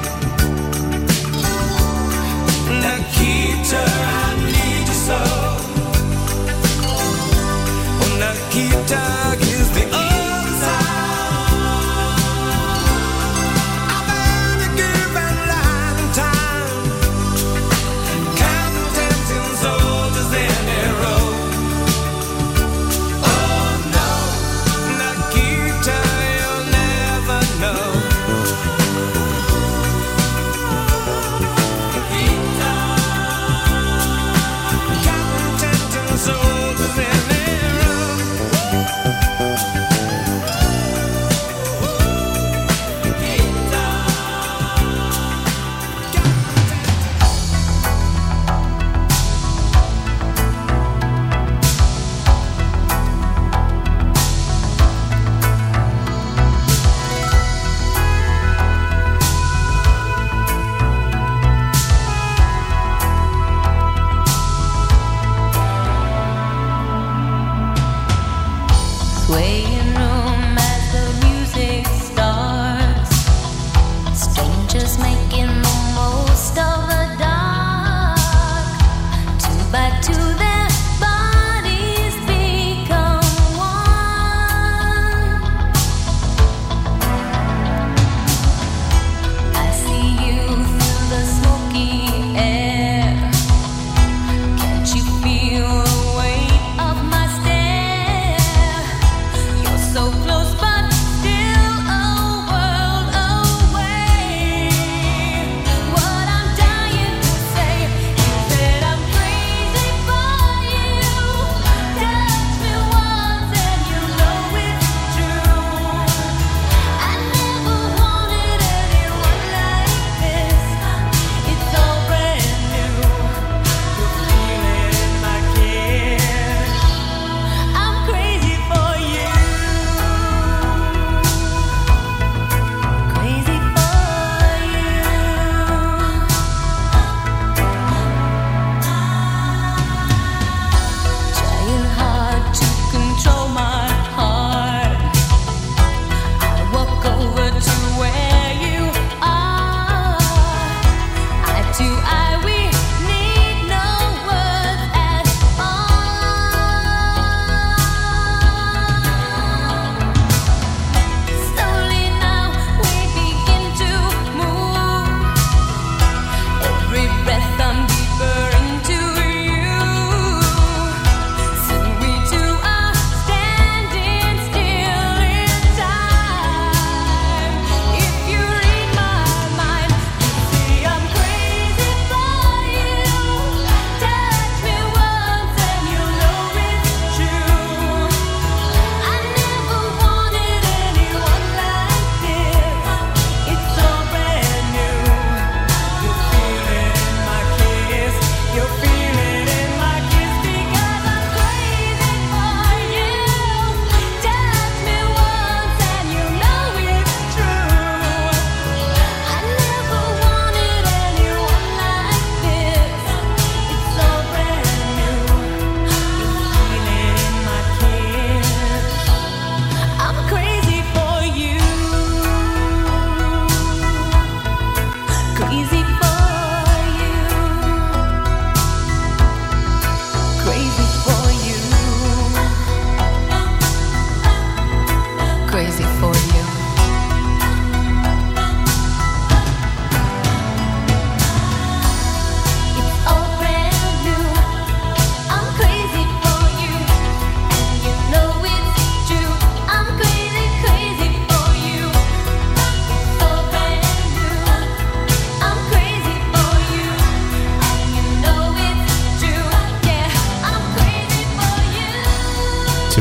Nikita, I need you so. Oh, Nikita is the other side of any given light and time, counting ten soldiers in a row. Oh no, Nikita, you'll never know.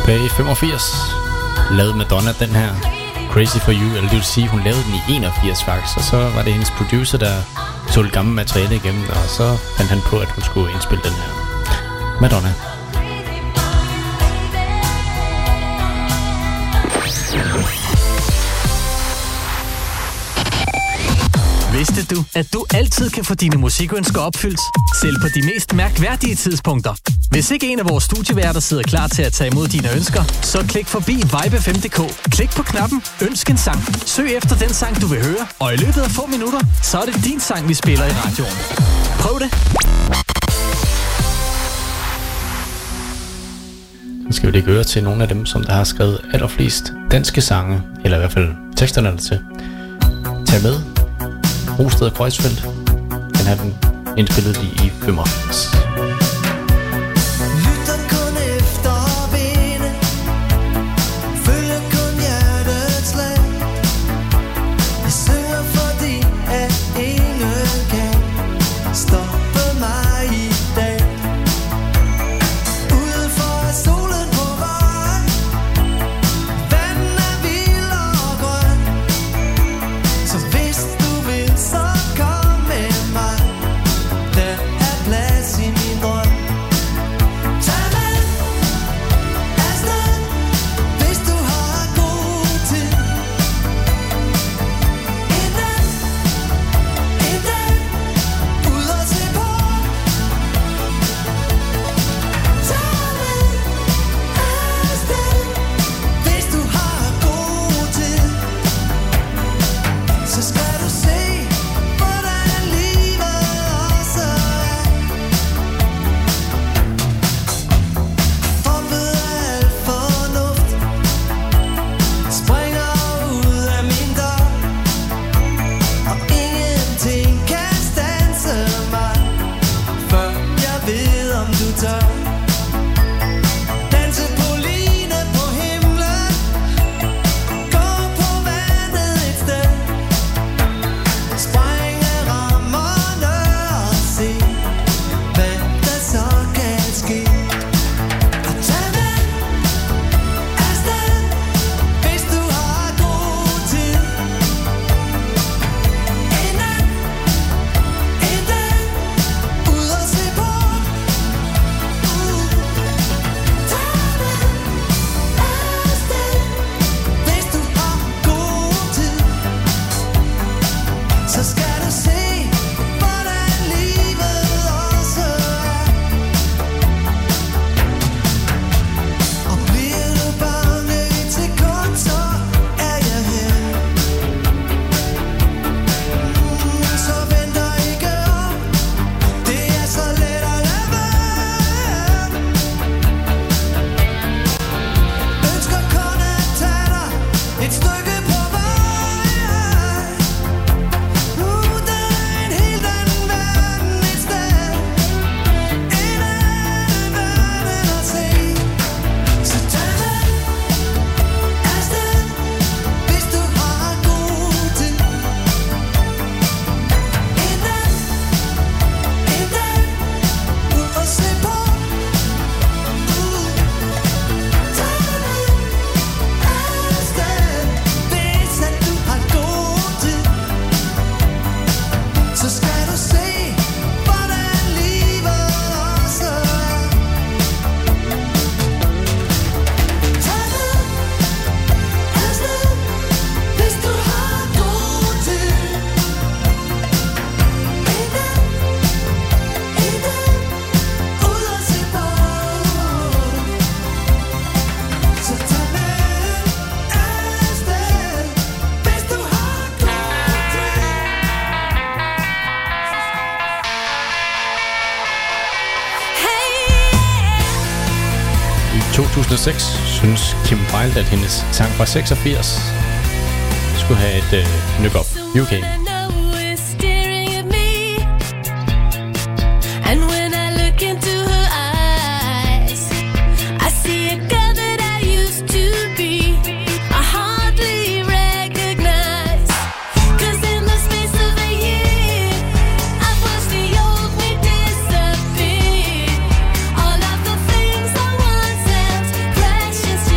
tilbage i femogfirs lavede Madonna den her Crazy For You, eller det vil sige, hun lavede den i enogfirs faktisk, og så var det hendes producer, der tog det gamle materiale igennem, og så fandt han på, at hun skulle indspille den her Madonna. Vidste du, at du altid kan få dine musikønsker opfyldt, selv på de mest mærkværdige tidspunkter? Hvis ikke en af vores studieværter sidder klar til at tage imod dine ønsker, så klik forbi vibe f m punktum d k. Klik på knappen Ønsk en sang. Søg efter den sang, du vil høre, og i løbet af få minutter, så er det din sang, vi spiller i radioen. Prøv det! Så skal vi lige høre til nogle af dem, som der har skrevet allerflest danske sange, eller i hvert fald teksterne der til. Tag med. Rosted og Kreuzfeldt. Den har den indspillet lige i femogfirs. Lytter kun efter vinde, følger kun hjertets slag. Jeg synger fordi, at ingen kan stoppe mig i dag. Udenfor er solen på vej, vandet er vild og grøn. Så hvis du vil, så kom med mig. Der er plads i min drøm. Tag med afsted, hvis du har god tid. En dag, en dag, ud og se på. Tag med afsted, hvis du har god tid. Så skal du se, hvordan livet også er. Droppet af al fornuft, springer ud af min dør, og ingenting kan standse mig, før jeg ved, om du tør. Danse på line på himlen, gå på vandet et sted, sprænge rammerne og se, hvad der så kan ske. Og tag med afsted, hvis du har god tid. En nat, en dag, ud og se på. Uh. Tag med afsted, hvis du har god tid. Så skal du se, hvordan livet også er. Og bliver du bange et sekund, så er jeg her. Mm, så venter ikke op, det er så let at lade være. Ønsker kun at tage dig et stykke på vej. Uh, der er en helt anden verden et sted, en anden verden at se. Så tag med afsted, hvis du har god tid. En nat, en dag, ud og se på. Uh, tag med afsted, hvis at du har god tid. Så skal du se, hvordan livet også er. Tag med afsted, hvis du har god tid. En dag, en dag, ud og se på. Så tag med afsted, hvis du har god tid. I to tusind og seks synes Kim Wilde, at hendes sang fra seksogfirs skulle have et øh, nyk op. U K. And when I look into her eyes, I see a girl that I used to be. I hardly recognize, 'cause in the space of a year, I've watched the old me disappear. All of the things I once held precious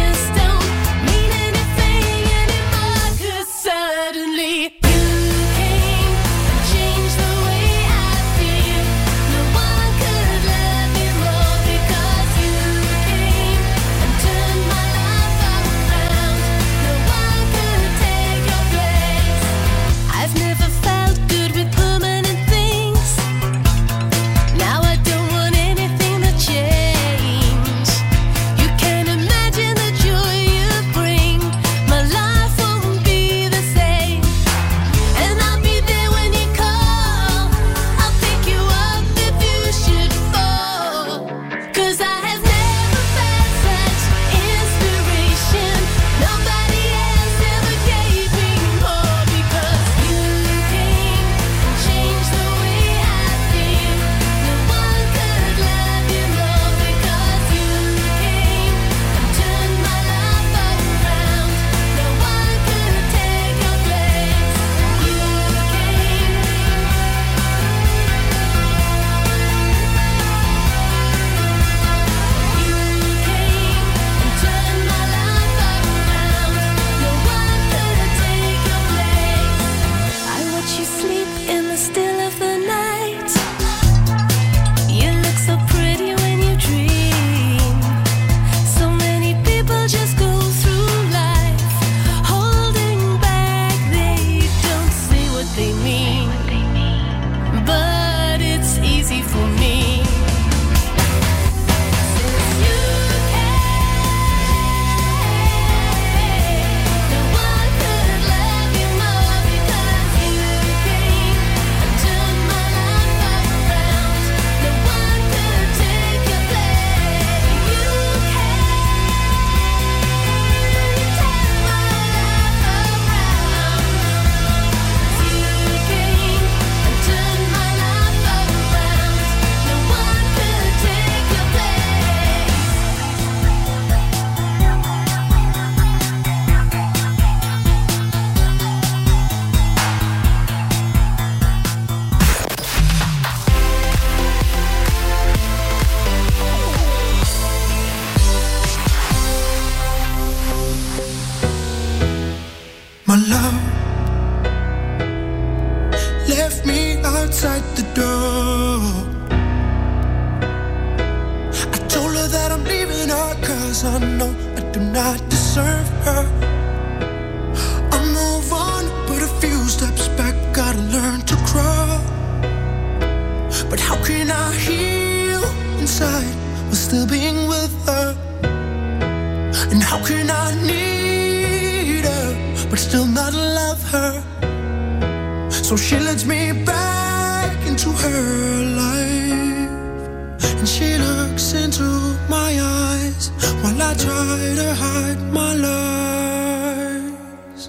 do not deserve her. I'll move on, but a few steps back, gotta learn to crawl. But how can I heal inside while still being with her? And how can I need her but still not love her? So she lets me back into her life, and she looks into my eyes while I try to hide my lies.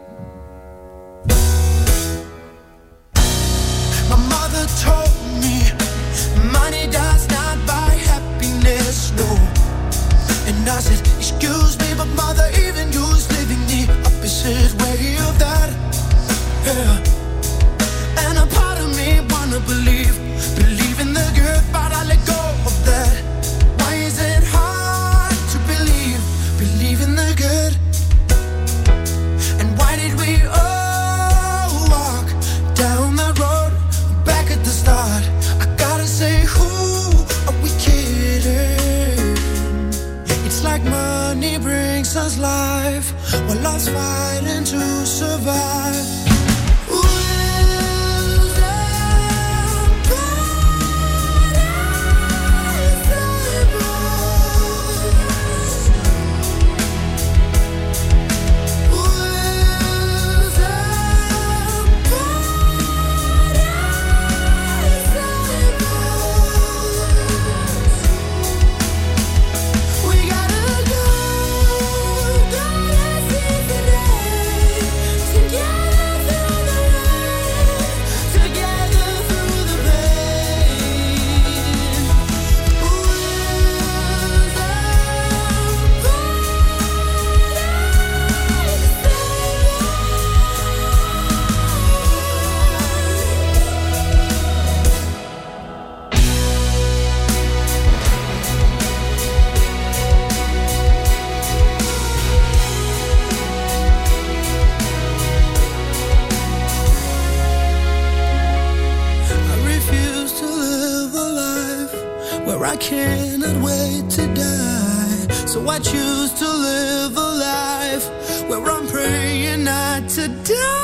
My mother told me money does not buy happiness, no. And I said, excuse me, but mother, even you's living the opposite way of that. Yeah. And a part of me wanna believe, believe in the good, but I let go of that. Why is it hard to believe, believe in the good? And why did we all walk down that road back at the start? I gotta say, who are we kidding? It's like money brings us life, while love's fighting to survive. I cannot wait to die, so I choose to live a life where I'm praying not to die.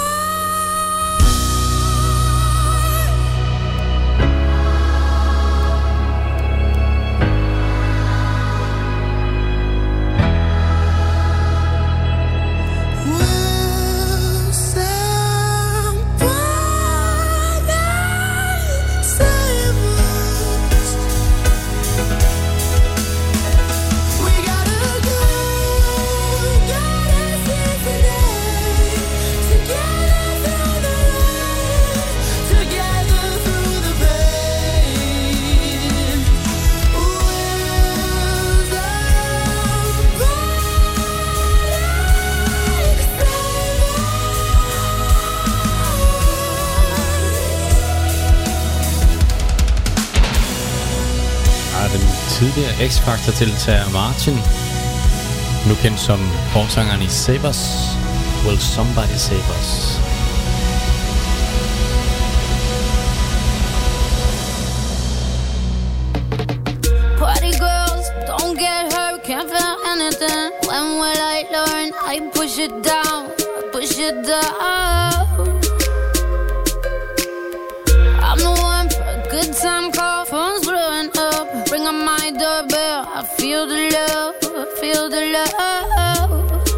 Tidligere X-Factor-deltager Martin, nu kendt som forsangeren i Save Us, Will Somebody Save Us. Party girls, don't get hurt, can't feel anything. When will I learn? I push it down, I push it down. I'm the one for a good time call, phone's blowing up. Ring on my doorbell, I feel the love, I feel the love.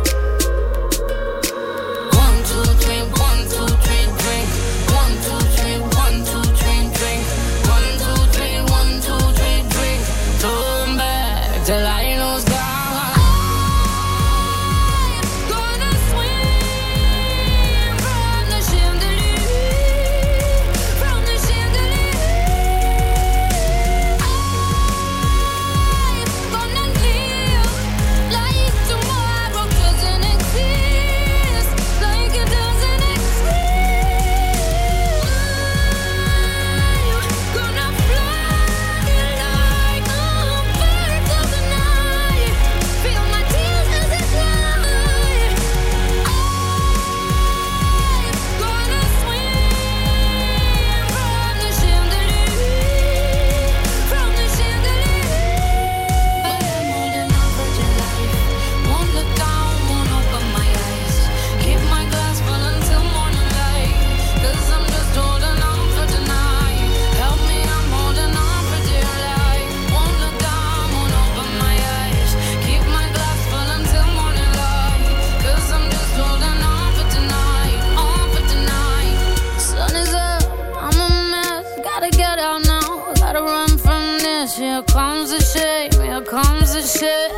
One, two, three, one, two, three, drink. One, two, three, one, two, three, drink. One, two, three, one, two, three, drink. Turn back till I lose God. shame.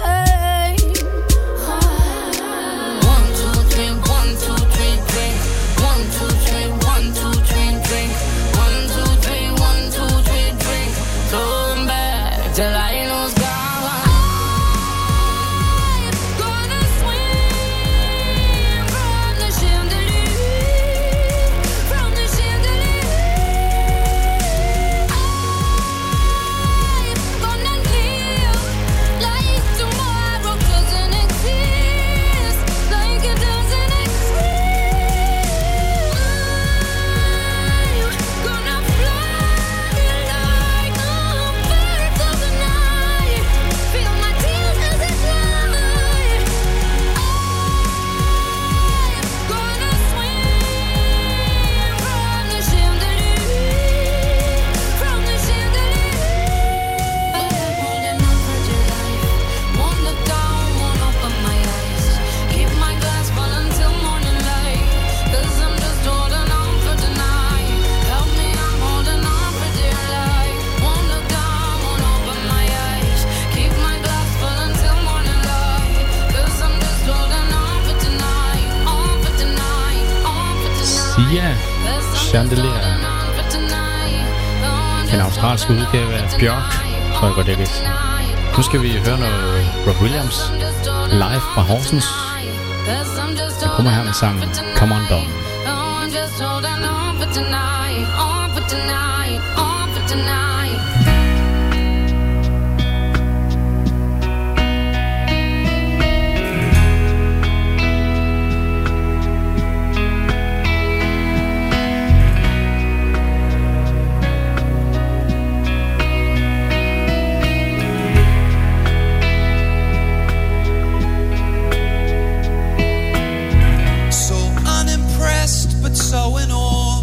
One, two, three, one, two, three, drink. One, two, three, one, two, three, drink. One, two, three, one, two, three, drink. Come back till I lose God. Sia Chandelier. En australsk udgave af Bjørk, tror jeg godt jeg vidste. Nu skal vi høre noget Rob Williams live fra Horsens. Jeg kommer her med sangen Come On Down. So in awe,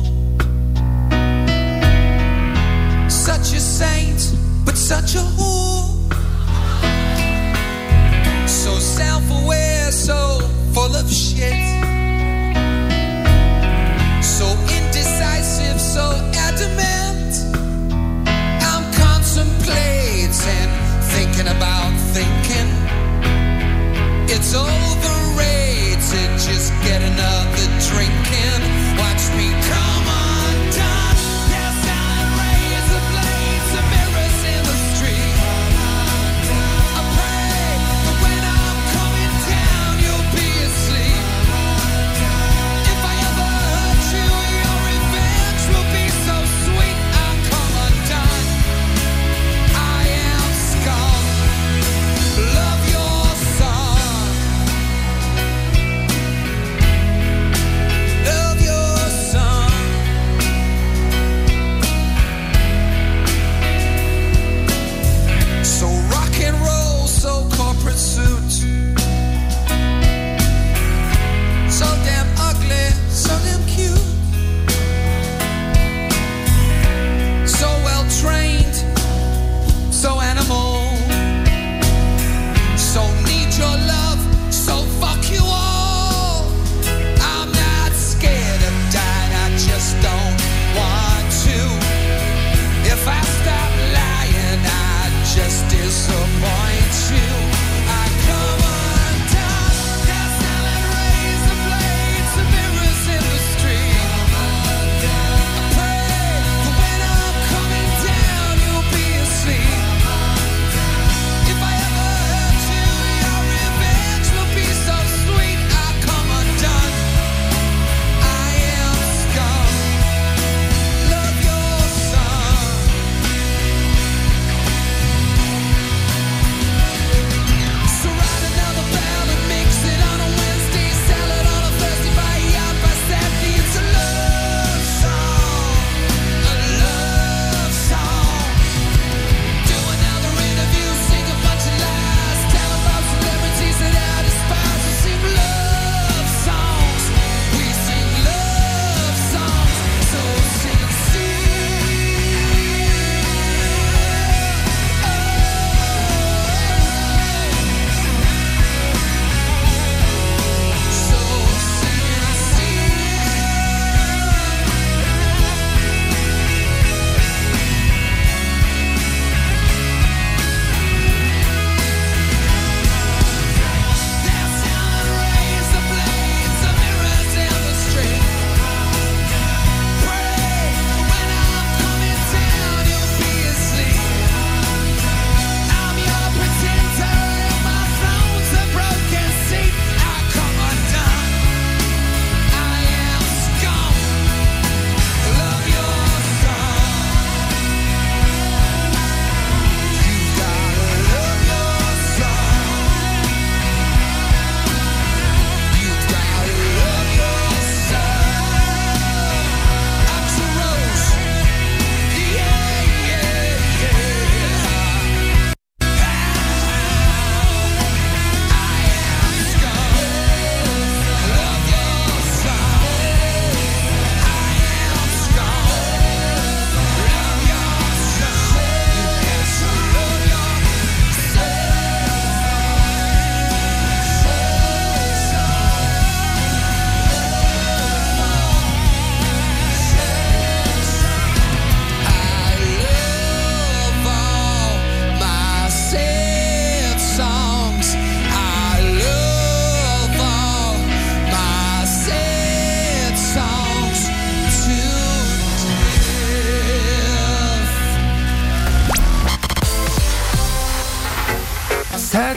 such a saint, but such a whore. So self-aware, so full of shit. So indecisive, so adamant. I'm contemplating, thinking about thinking. It's overrated, just get another drink in. Watch me come undone. Yes, I raise the blades of mirrors in the street. I pray that when I'm coming down, you'll be asleep. If I ever hurt you, your revenge will be so sweet. I'll come undone. I am scum. Love your song. Love your song.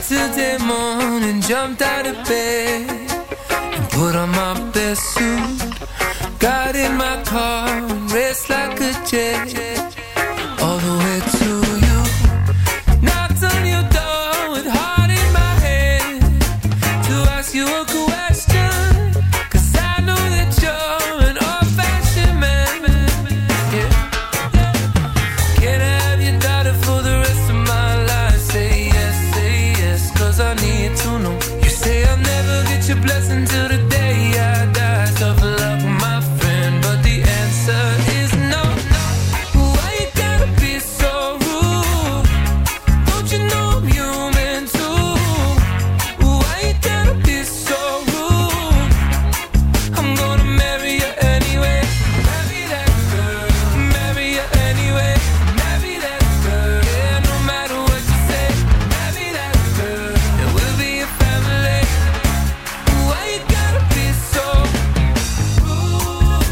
Yesterday morning, jumped out of bed and put on my best suit. Got in my car and raced like a jet all the way to you. Knocked on your door with heart in my head to ask you a question, 'cause I know that you're an old-fashioned man. Yeah. Can I have your daughter for the rest of my life? Say yes, say yes, 'cause I need to know. You say I'll never get your blessing till the day I die. Tough luck, my friend, but the answer is no. Why you gotta be so rude? Don't you know I'm human too? Why you gotta be so rude? I'm gonna marry you anyway. Marry that girl. Marry you anyway. Marry that girl. Yeah, no matter what you say. Marry that girl. And we'll be a family. Why you gotta be so rude?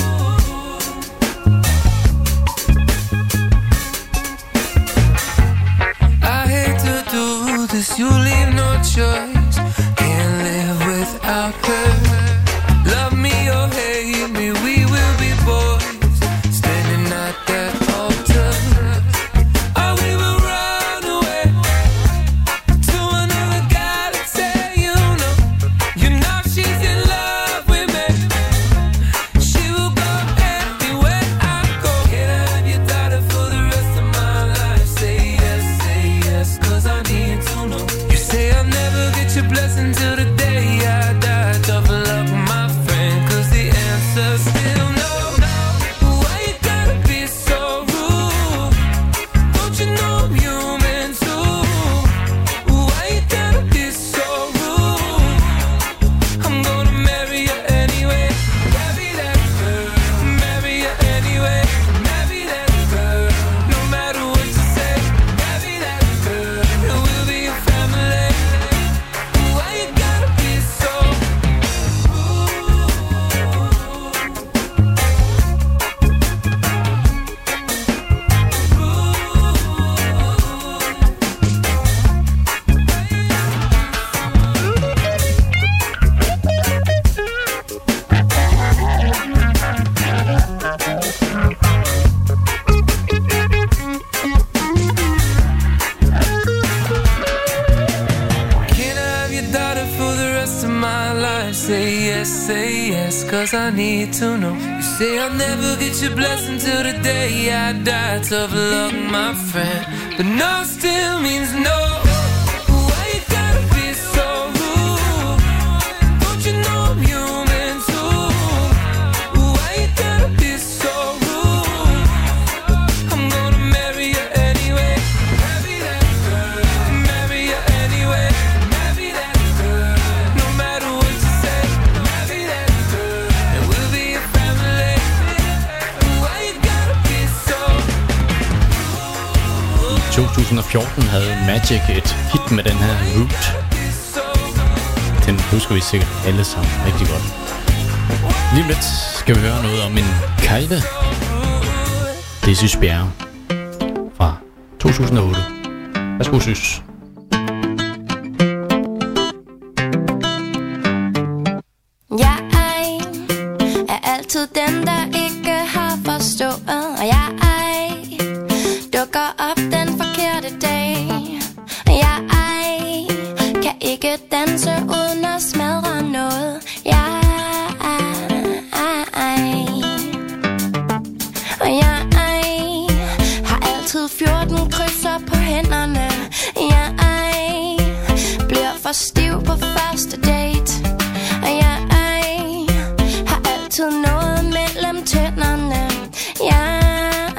I hate to do this, you leave no choice. Can't live without her. Love me or hate me, we will be boys, standing at that altar. Or we will run away to another galaxy, you know. You know she's in love with me. She will go anywhere I go. Can I have your daughter for the rest of my life? Say yes, say yes, 'cause I need to know. You say I'll never get your blessing till the day I die. Tough luck, my friend, 'cause the answer's still no. Why you gotta be so rude? Don't you know I'm human too? Why you gotta be so rude? I'm gonna marry you anyway. Marry that girl. Marry you anyway. Marry that girl. No matter what you say. Marry that girl. And we'll be a family. Why you gotta be so Can I have your daughter for the rest of my life? Say yes, say yes, 'cause I need to know. You say I'll never get your blessing till the day I die. Tough luck, my friend, but no still means no. Why you gotta be so rude? Don't you know I'm human too? Why you gotta be so rude? I'm gonna marry you anyway. Marry that girl. Marry you anyway. Marry that girl. No matter what you say. Marry that girl. And we'll be a family. Why you gotta be so I to tusind og fjorten havde Magic et hit med den her Root. Den husker vi sikkert alle sammen rigtig godt. Lige om lidt skal vi høre noget om en kejle. Det er Sys Bjerre fra to tusind og otte. Værsgo, Sys. Jeg er altid den, der ikke har forstået, og jeg dukker op den forkerte dag. Jeg kan ikke danse uden at smadre noget. Jeg og jeg har altid fjorten krydser på hænderne. Jeg bliver for stiv på første date, og jeg har altid noget mellem tænderne. Jeg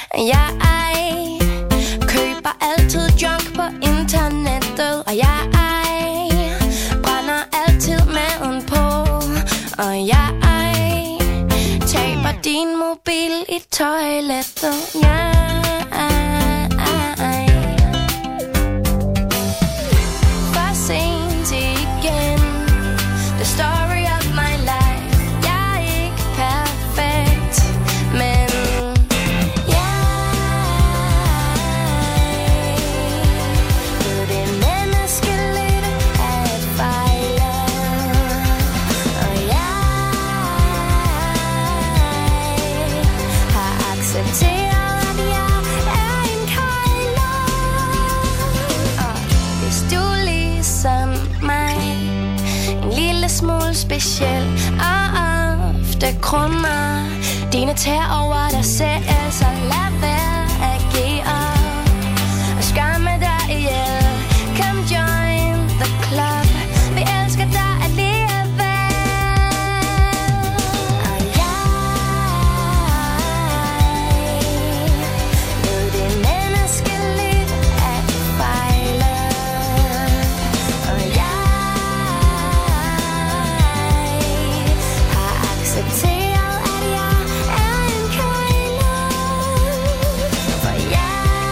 Jeg køber altid junk på internettet, og jeg brænder altid maden på, og jeg taber din mobil i toilettet. Jeg for sent igen. The story of my life. Jeg er ikke perfekt, men jeg ved det menneskeligt at fejle, og jeg har accepteret, at jeg er en kejler. Og hvis du ligesom mig en lille smule speciel og ofte krummer dine tær over dig selv, så lad være at give op og skamme dig ihjel. Come join the club. Vi elsker dig alligevel. Og jeg ved det menneskeligt at fejle, og jeg har accepteret, at jeg er en kejler. For jeg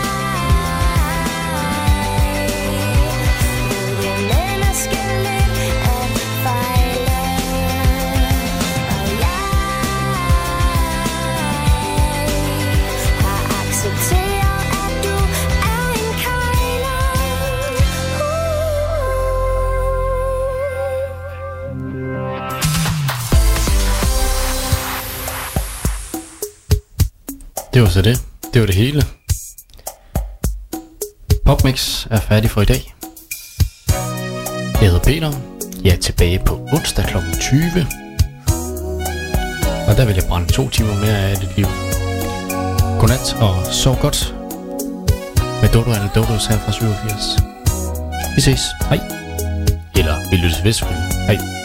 ved det menneskeligt at fejle, og jeg har accepteret, at du er en kejler. Det var så det. Det var det hele. Popmix er færdig for i dag. Jeg hedder Peter. Jeg er tilbage på onsdag klokken tyve. Og der vil jeg brænde to timer mere af dit liv. Godnat og sov godt. Med Dodo eller Dodos her fra syvogfirs. Vi ses. Hej. Eller vi lyttes ved selvfølgelig. Hej.